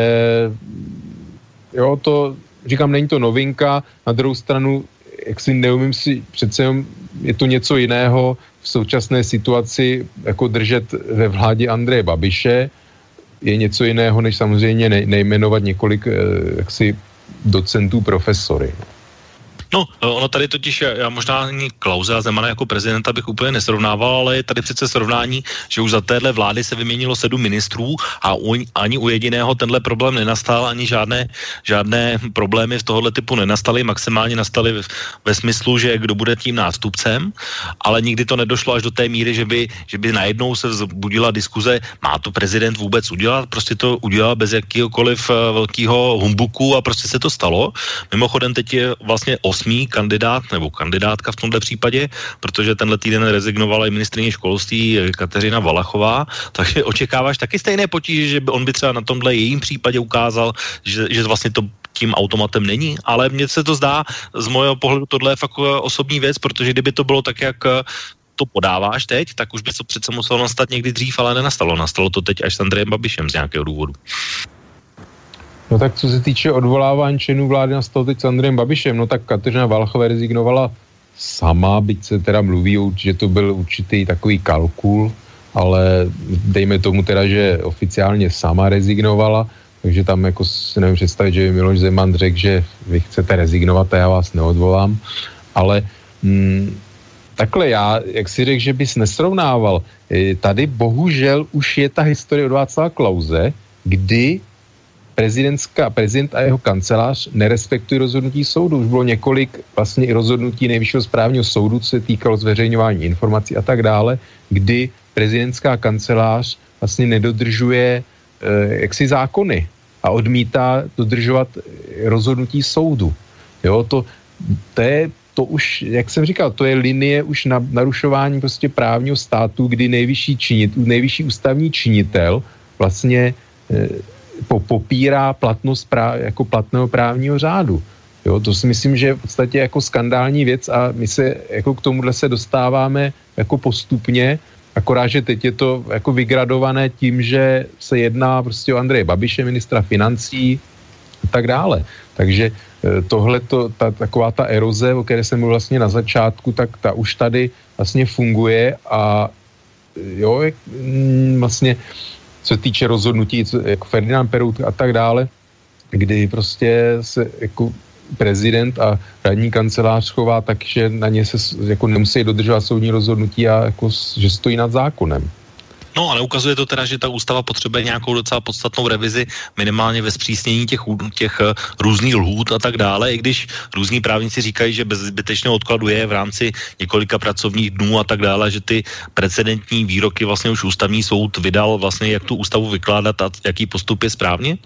D: jo, to říkám, není to novinka. Na druhou stranu, jak si neumím si, přece je to něco jiného v současné situaci jako držet ve vládě Andreje Babiše. Je něco jiného, než samozřejmě ne, nejmenovat několik jaksi docentů, profesory.
C: No, ono tady totiž, já možná ani Klause a Zemana jako prezidenta bych úplně nesrovnával, ale je tady přece srovnání, že už za téhle vlády se vyměnilo sedm ministrů a u, ani u jediného tenhle problém nenastal, ani žádné, žádné problémy v tohohle typu nenastaly, maximálně nastaly ve, ve smyslu, že kdo bude tím nástupcem, ale nikdy to nedošlo až do té míry, že by, že by najednou se vzbudila diskuze, má to prezident vůbec udělat, prostě to udělal bez jakýhokoliv velkého humbuku a prostě se to stalo. Mimochodem teď je vlastně osmý kandidát nebo kandidátka v tomto případě, protože tenhle týden rezignovala i ministryně školství Kateřina Valachová, takže očekáváš taky stejné potíže, že by on by třeba na tomhle jejím případě ukázal, že, že vlastně to tím automatem není, ale mně se to zdá, z mojho pohledu tohle je fakt osobní věc, protože kdyby to bylo tak, jak to podáváš teď, tak už by to přece muselo nastat někdy dřív, ale nenastalo. Nastalo to teď až s Andrejem Babišem z nějakého důvodu.
D: No tak co se týče odvolávání členů vlády, nastalo teď s Andrejem Babišem, no tak Kateřina Valachová rezignovala sama, byť se teda mluví, že to byl určitý takový kalkul, ale dejme tomu teda, že oficiálně sama rezignovala, takže tam jako si nevím představit, že by Miloš Zeman řekl, že vy chcete rezignovat a já vás neodvolám, ale mm, takhle já, jak si řekl, že bys nesrovnával, tady bohužel už je ta historie od Václava Klause, kdy prezidentská, prezident a jeho kancelář nerespektují rozhodnutí soudu. Už bylo několik vlastně i rozhodnutí Nejvyššího správního soudu, co se týkalo zveřejňování informací a tak dále, kdy prezidentská kancelář vlastně nedodržuje eh, jaksi zákony a odmítá dodržovat rozhodnutí soudu. Jo, to, to je to už, jak jsem říkal, to je linie už na narušování prostě právního státu, kdy nejvyšší činitel, nejvyšší ústavní činitel vlastně eh, Po, popírá platnost práv, jako platného právního řádu. Jo, to si myslím, že je v podstatě jako skandální věc a my se jako k tomuhle se dostáváme jako postupně, akorát, že teď je to jako vygradované tím, že se jedná prostě o Andreje Babiše, ministra financí a tak dále. Takže tohleto, ta, taková ta eroze, o které jsem mluvil vlastně na začátku, tak ta už tady vlastně funguje a jo, vlastně co se týče rozhodnutí, co, jako Ferdinand Perout a tak dále, kdy prostě se jako prezident a radní kancelář chová tak, že na ně se jako nemusí dodržovat soudní rozhodnutí a jako, že stojí nad zákonem.
C: No ale ukazuje to teda, že ta ústava potřebuje nějakou docela podstatnou revizi, minimálně ve zpřísnění těch, těch různých lhůt a tak dále, i když různí právníci říkají, že bez zbytečného odkladu je v rámci několika pracovních dnů a tak dále, že ty precedentní výroky vlastně už ústavní soud vydal vlastně, jak tu ústavu vykládat a jaký postup je správně?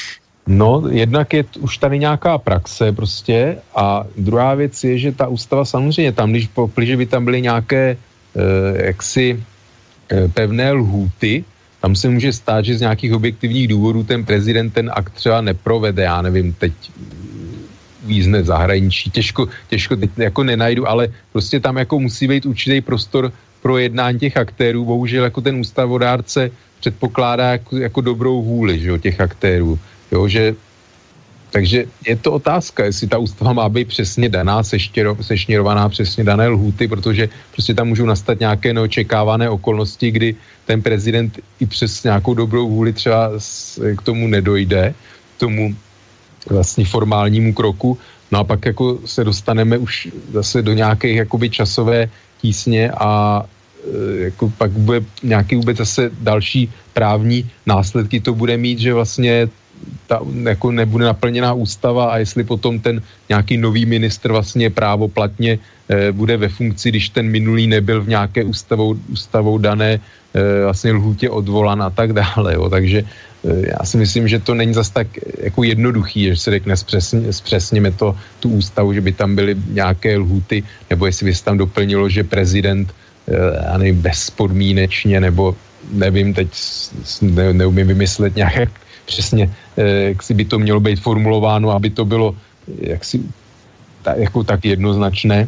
D: No, jednak je už tady nějaká praxe prostě a druhá věc je, že ta ústava samozřejmě tam, když, když by tam byly nějaké eh, jaksi pevné lhůty, tam se může stát, že z nějakých objektivních důvodů ten prezident ten akt třeba neprovede, já nevím, teď uvízne v zahraničí. Těžko, těžko teď jako nenajdu, ale prostě tam jako musí být určitý prostor pro jednání těch aktérů. Bohužel jako ten ústavodárce předpokládá jako, jako dobrou vůli, že jo, těch aktérů. Jo, že takže je to otázka, jestli ta ústava má být přesně daná, seštěro, sešněrovaná přesně dané lhůty, protože prostě tam můžou nastat nějaké neočekávané okolnosti, kdy ten prezident i přes nějakou dobrou vůli třeba k tomu nedojde, k tomu vlastně formálnímu kroku. No a pak jako se dostaneme už zase do nějaké jakoby časové tísně a jako pak bude nějaký vůbec zase další právní následky to bude mít, že vlastně ta jako nebude naplněná ústava a jestli potom ten nějaký nový ministr vlastně právoplatně e, bude ve funkci, když ten minulý nebyl v nějaké ústavou, ústavou dané e, vlastně lhůtě odvolan a tak dále. Jo. Takže e, já si myslím, že to není zas tak jako jednoduchý, že se řekne zpřesně, zpřesněme to, tu ústavu, že by tam byly nějaké lhůty, nebo jestli by se tam doplnilo, že prezident e, já nevím, bezpodmínečně, nebo nevím, teď ne, neumím vymyslet nějaké přesně, jak si by to mělo být formulováno, aby to bylo jaksi ta, jako tak jednoznačné,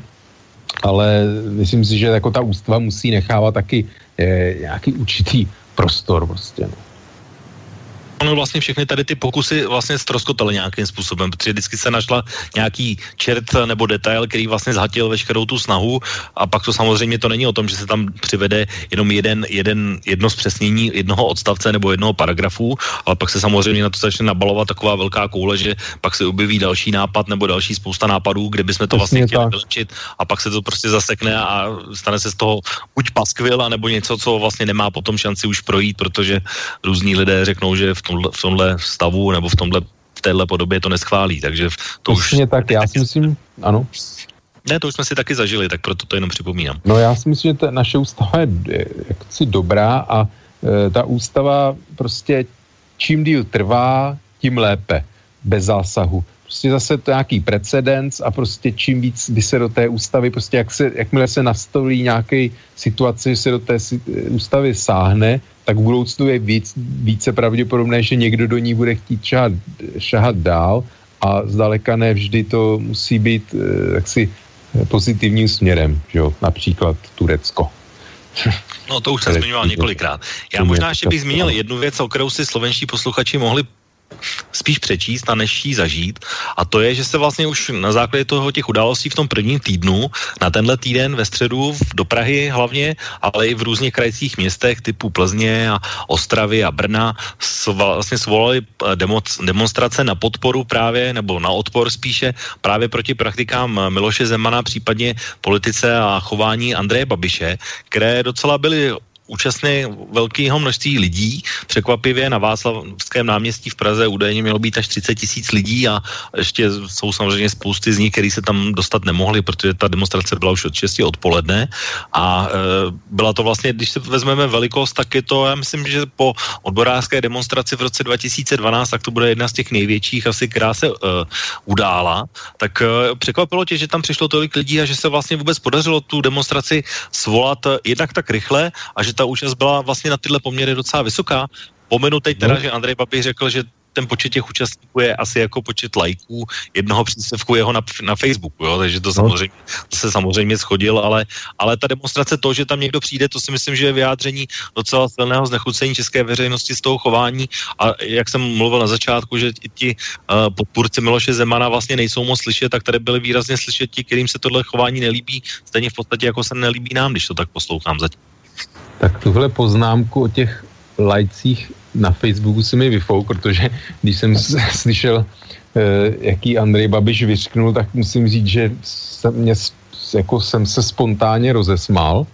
D: ale myslím si, že jako ta ústava musí nechávat taky eh, nějaký určitý prostor prostě. No.
C: Ono vlastně všechny tady ty pokusy vlastně ztroskotaly nějakým způsobem, protože vždycky se našla nějaký čert nebo detail, který vlastně zhatil veškerou tu snahu a pak to samozřejmě to není o tom, že se tam přivede jenom jeden, jeden, jedno zpřesnění jednoho odstavce nebo jednoho paragrafu, ale pak se samozřejmě na to začne nabalovat taková velká koule, že pak se objeví další nápad nebo další spousta nápadů, kde bychom to vlastně chtěli vylepšit a pak se to prostě zasekne a stane se z toho buď paskvil, anebo něco, co vlastně nemá potom šanci už projít, protože různí lidé řeknou, že v v tomhle stavu nebo v tomhle v téhle podobě to neschválí, takže to
D: Přesně
C: už...
D: tak, já si myslím, ano.
C: Ne, to už jsme si taky zažili, tak proto to jenom připomínám.
D: No já si myslím, že ta naše ústava je jaksi dobrá a e, ta ústava prostě čím díl trvá, tím lépe, bez zásahu. Prostě zase to nějaký precedens a prostě čím víc by se do té ústavy, prostě jak se, jakmile se nastolí nějaký situace, že se do té ústavy sáhne, tak v budoucnu je víc, více pravděpodobné, že někdo do ní bude chtít šahat, šahat dál a zdaleka ne vždy to musí být eh, jaksi pozitivním směrem, že jo? Například Turecko.
C: No to už jsem zmiňoval několikrát. Já možná ještě bych zmínil jednu věc, o kterou si slovenští posluchači mohli spíš přečíst a než jí zažít. A to je, že se vlastně už na základě toho těch událostí v tom prvním týdnu, na tenhle týden ve středu do Prahy hlavně, ale i v různých krajských městech typu Plzně a Ostravy a Brna vlastně svolali demonstrace na podporu právě, nebo na odpor spíše, právě proti praktikám Miloše Zemana, případně politice a chování Andreje Babiše, které docela byly účastné velkého množství lidí. Překvapivě na Václavském náměstí v Praze údajně mělo být až třicet tisíc lidí a ještě jsou samozřejmě spousty z nich, kteří se tam dostat nemohli, protože ta demonstrace byla už od šesti odpoledne a e, byla to vlastně, když se vezmeme velikost, tak je to, já myslím, že po odborářské demonstraci v roce dva tisíce dvanáct, tak to bude jedna z těch největších asi, která se e, udála. Tak e, překvapilo tě, že tam přišlo tolik lidí a že se vlastně vůbec podařilo tu demonstraci svolat jednak tak rychle a že ta účast byla vlastně na tyhle poměry docela vysoká. Pomenu teď teda, že Andrej Babiš řekl, že ten počet těch účastníků je asi jako počet lajků jednoho příspěvku jeho na, na Facebooku, jo? Takže to samozřejmě, to se samozřejmě shodil, ale, ale ta demonstrace, to, že tam někdo přijde, to si myslím, že je vyjádření docela silného znechucení české veřejnosti z toho chování a jak jsem mluvil na začátku, že ti uh, podpůrci Miloše Zemana vlastně nejsou moc slyšet, tak tady byli výrazně slyšet ti, kterým se tohle chování nelíbí, stejně v podstatě jako se nelíbí nám, když to tak poslouchám zatím.
D: Tak tuhle poznámku o těch lajcích na Facebooku si mi vyfouk, protože když jsem slyšel, jaký Andrej Babiš vyřknul, tak musím říct, že jsem, mě, jako jsem se spontánně rozesmál.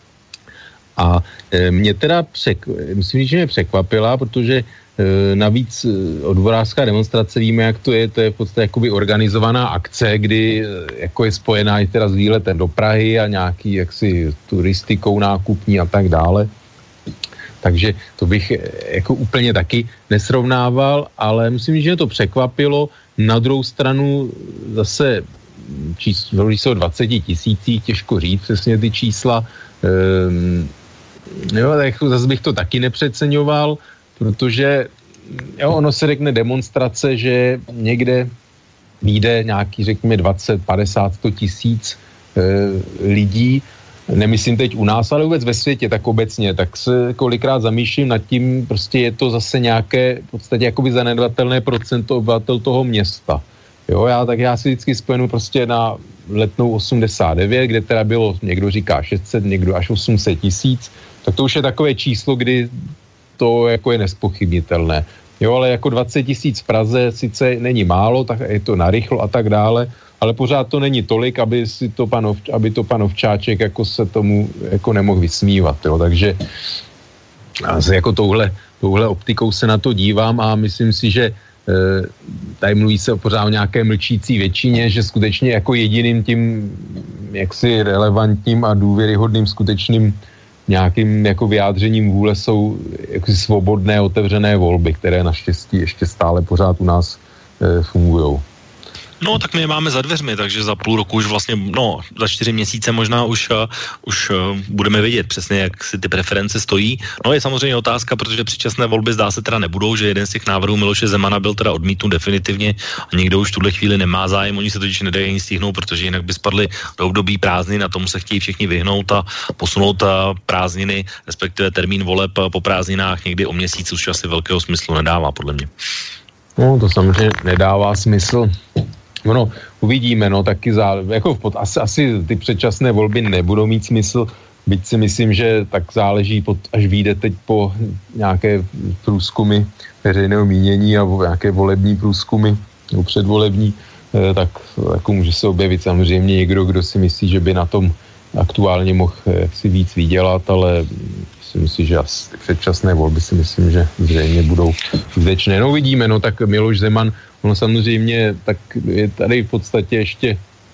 D: A mě teda přek, musím říct, že mě překvapila, protože navíc odborářská demonstrace, víme, jak to je, to je v podstatě jakoby organizovaná akce, kdy jako je spojená i teda s výletem do Prahy a nějaký jaksi turistikou nákupní a tak dále. Takže to bych jako úplně taky nesrovnával, ale myslím, že mě to překvapilo. Na druhou stranu zase číslo o dvaceti tisících, těžko říct přesně ty čísla. Ehm, jo, tak zase bych to taky nepřeceňoval, protože jo, ono se řekne demonstrace, že někde vyjde nějaký, řekněme, dvacet, padesát, sto tisíc e, lidí, nemyslím teď u nás, ale vůbec ve světě, tak obecně, tak se kolikrát zamýšlím nad tím, prostě je to zase nějaké v podstatě jakoby zanedbatelné procento obyvatel toho města. Jo, já, tak já si vždycky spojenu prostě na Letnou osmdesát devět, kde teda bylo, někdo říká šest set, někdo až osm set tisíc, tak to už je takové číslo, kdy to jako je nespochybnitelné. Jo, ale jako dvacet tisíc v Praze sice není málo, tak je to narychlo a tak dále, ale pořád to není tolik, aby si to pan, aby to pan Ovčáček jako se tomu jako nemohl vysmívat, jo, takže jako touhle, touhle optikou se na to dívám a myslím si, že tady mluví se pořád o nějaké mlčící většině, že skutečně jako jediným tím jaksi relevantním a důvěryhodným skutečným nějakým jako vyjádřením vůle jsou jaksi svobodné, otevřené volby, které naštěstí ještě stále pořád u nás e, fungujou.
C: No, tak my je máme za dveřmi, takže za půl roku už vlastně, no, za čtyři měsíce možná už, uh, už uh, budeme vědět přesně, jak si ty preference stojí. No, je samozřejmě otázka, protože předčasné volby zdá se teda nebudou, že jeden z těch návrhů Miloše Zemana byl teda odmítnut definitivně a někdo už v tuhle chvíli nemá zájem, oni se totiž nedají ani stihnout, protože jinak by spadly do období prázdnin a tomu se chtějí všichni vyhnout a posunout uh, prázdniny, respektive termín voleb uh, po prázdninách někdy o měsíc už asi velkého smyslu nedává, podle mě.
D: No, to samozřejmě nedává smysl. No, uvidíme, no, taky zá, jako v pod, asi, asi ty předčasné volby nebudou mít smysl, byť si myslím, že tak záleží, pod, až vyjde teď po nějaké průzkumy veřejného mínění a nějaké volební průzkumy, nebo předvolební, eh, tak jako může se objevit samozřejmě někdo, kdo si myslí, že by na tom aktuálně mohl jaksi víc vydělat, ale myslím si, že asi předčasné volby si myslím, že zřejmě budou skutečné. No, uvidíme, no, tak Miloš Zeman, ono samozřejmě, tak je tady v podstatě ještě,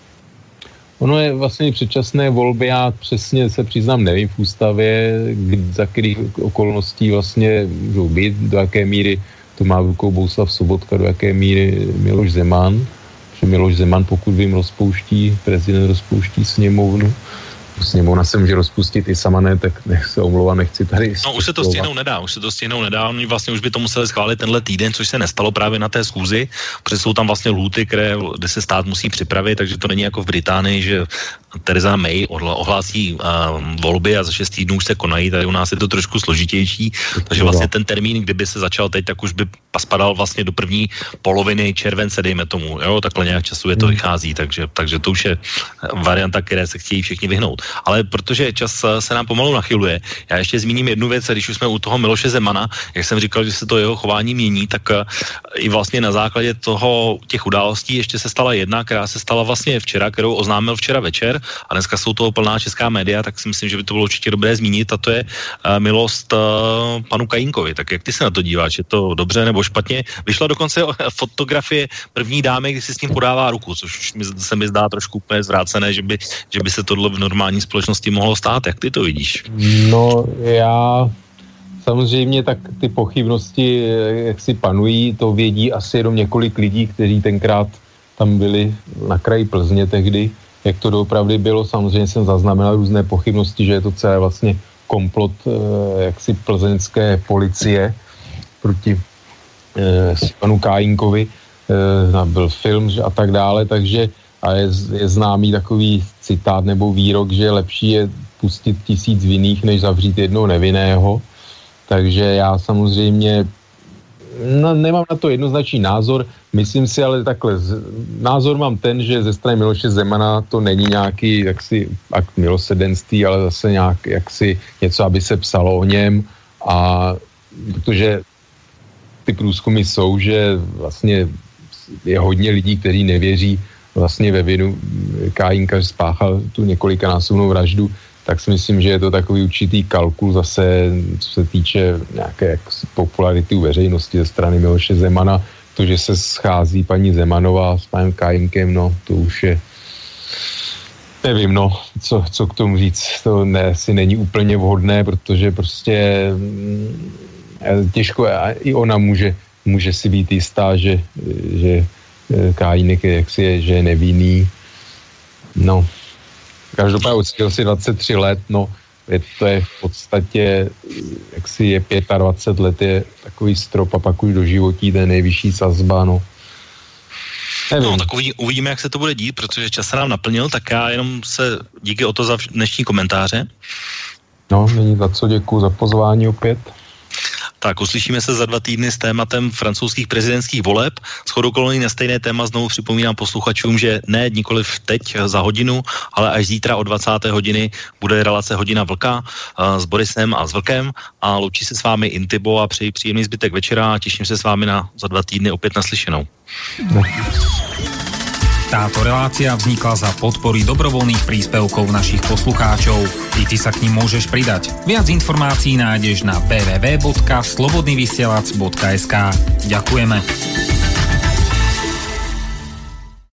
D: ono je vlastně předčasné volby, já přesně se přiznám, nevím v ústavě, za kterých okolností vlastně můžou být, do jaké míry to má v rukou Bohuslav Sobotka, do jaké míry Miloš Zeman, protože Miloš Zeman, pokud vím, rozpouští, prezident rozpouští sněmovnu, sněmovna se může rozpustit i sama, ne, tak nech se omlouvám, nechci tady...
C: No už se to stihnout nedá, už se to stihnout nedá, oni vlastně už by to museli schválit tenhle týden, což se nestalo právě na té schůzi, protože jsou tam vlastně lhůty, které, kde se stát musí připravit, takže to není jako v Británii, že Theresa May ohlásí uh, volby a za šest týdnů už se konají, tady u nás je to trošku složitější, takže vlastně ten termín, kdyby se začal teď, tak už by spadal vlastně do první poloviny července, dejme tomu, jo, takhle nějak časově to vychází, takže, takže to už je varianta, které se chtějí všichni vyhnout. Ale protože čas se nám pomalu nachyluje, já ještě zmíním jednu věc, když už jsme u toho Miloše Zemana, jak jsem říkal, že se to jeho chování mění, tak i vlastně na základě toho těch událostí ještě se stala jedna, která se stala vlastně včera, kterou oznámil včera večer a dneska jsou toho plná česká média, tak si myslím, že by to bylo určitě dobré zmínit a to je milost panu Kajínkovi. Tak jak ty se na to díváš, je to dobře nebo špatně? Vyšla dokonce fotografie první dámy, kdy si s ním podává ruku, což se mi zdá trošku úplně zvrácené, že by, že by se tohle v normální společnosti mohlo stát. Jak ty to vidíš?
D: No, já samozřejmě tak ty pochybnosti, jak si panují, to vědí asi jenom několik lidí, kteří tenkrát tam byli na kraji Plzně tehdy, jak to doopravdy bylo. Samozřejmě jsem zaznamenal různé pochybnosti, že je to celé vlastně komplot jaksi plzeňské policie proti eh, panu Kajínkovi, eh, byl film a tak dále, takže a je, je známý takový citát nebo výrok, že lepší je pustit tisíc vinných, než zavřít jednoho nevinného. Takže já samozřejmě no, nemám na to jednoznačný názor, myslím si ale takhle, z, názor mám ten, že ze strany Miloše Zemana to není nějaký jaksi akt milosrdenství, ale zase nějak jaksi něco, aby se psalo o něm a protože ty průzkumy jsou, že vlastně je hodně lidí, kteří nevěří vlastně ve vinu Kajínka, že spáchal tu několikanásobnou vraždu, tak si myslím, že je to takový určitý kalkul zase, co se týče nějaké popularity u veřejnosti ze strany Miloše Zemana. To, že se schází paní Zemanová s panem Kajínkem, no to už je, nevím, no, co, co k tomu říct. To ne, si není úplně vhodné, protože prostě těžko, a i ona může, může si být jistá, že, že Kajínek je, jak si je, že je nevinný. No, každopádně odskýl si dvacet tři let, no, je, to je v podstatě, jak si je dvacet pět let, je takový strop a pak už do životí, to je nejvyšší sazba, no.
C: No, tak uvidíme, jak se to bude dít, protože čas se nám naplnil, tak já jenom se díky o to za dnešní komentáře.
D: No, není za co, děkuju za pozvání opět.
C: Tak uslyšíme se za dva týdny s tématem francouzských prezidentských voleb. Shodou okolností na stejné téma znovu připomínám posluchačům, že ne nikoliv teď za hodinu, ale až zítra od dvacáté hodiny bude relace Hodina vlka uh, s Borisem a s Vlkem a loučí se s vámi Intibo a přeji příjemný zbytek večera a těším se s vámi na za dva týdny opět naslyšenou. No.
J: Táto relácia vznikla za podpory dobrovoľných príspevkov našich poslucháčov. I ty sa k nim môžeš pridať. Viac informácií nájdeš na w w w bodka slobodnyvysielac bodka es ka. Ďakujeme.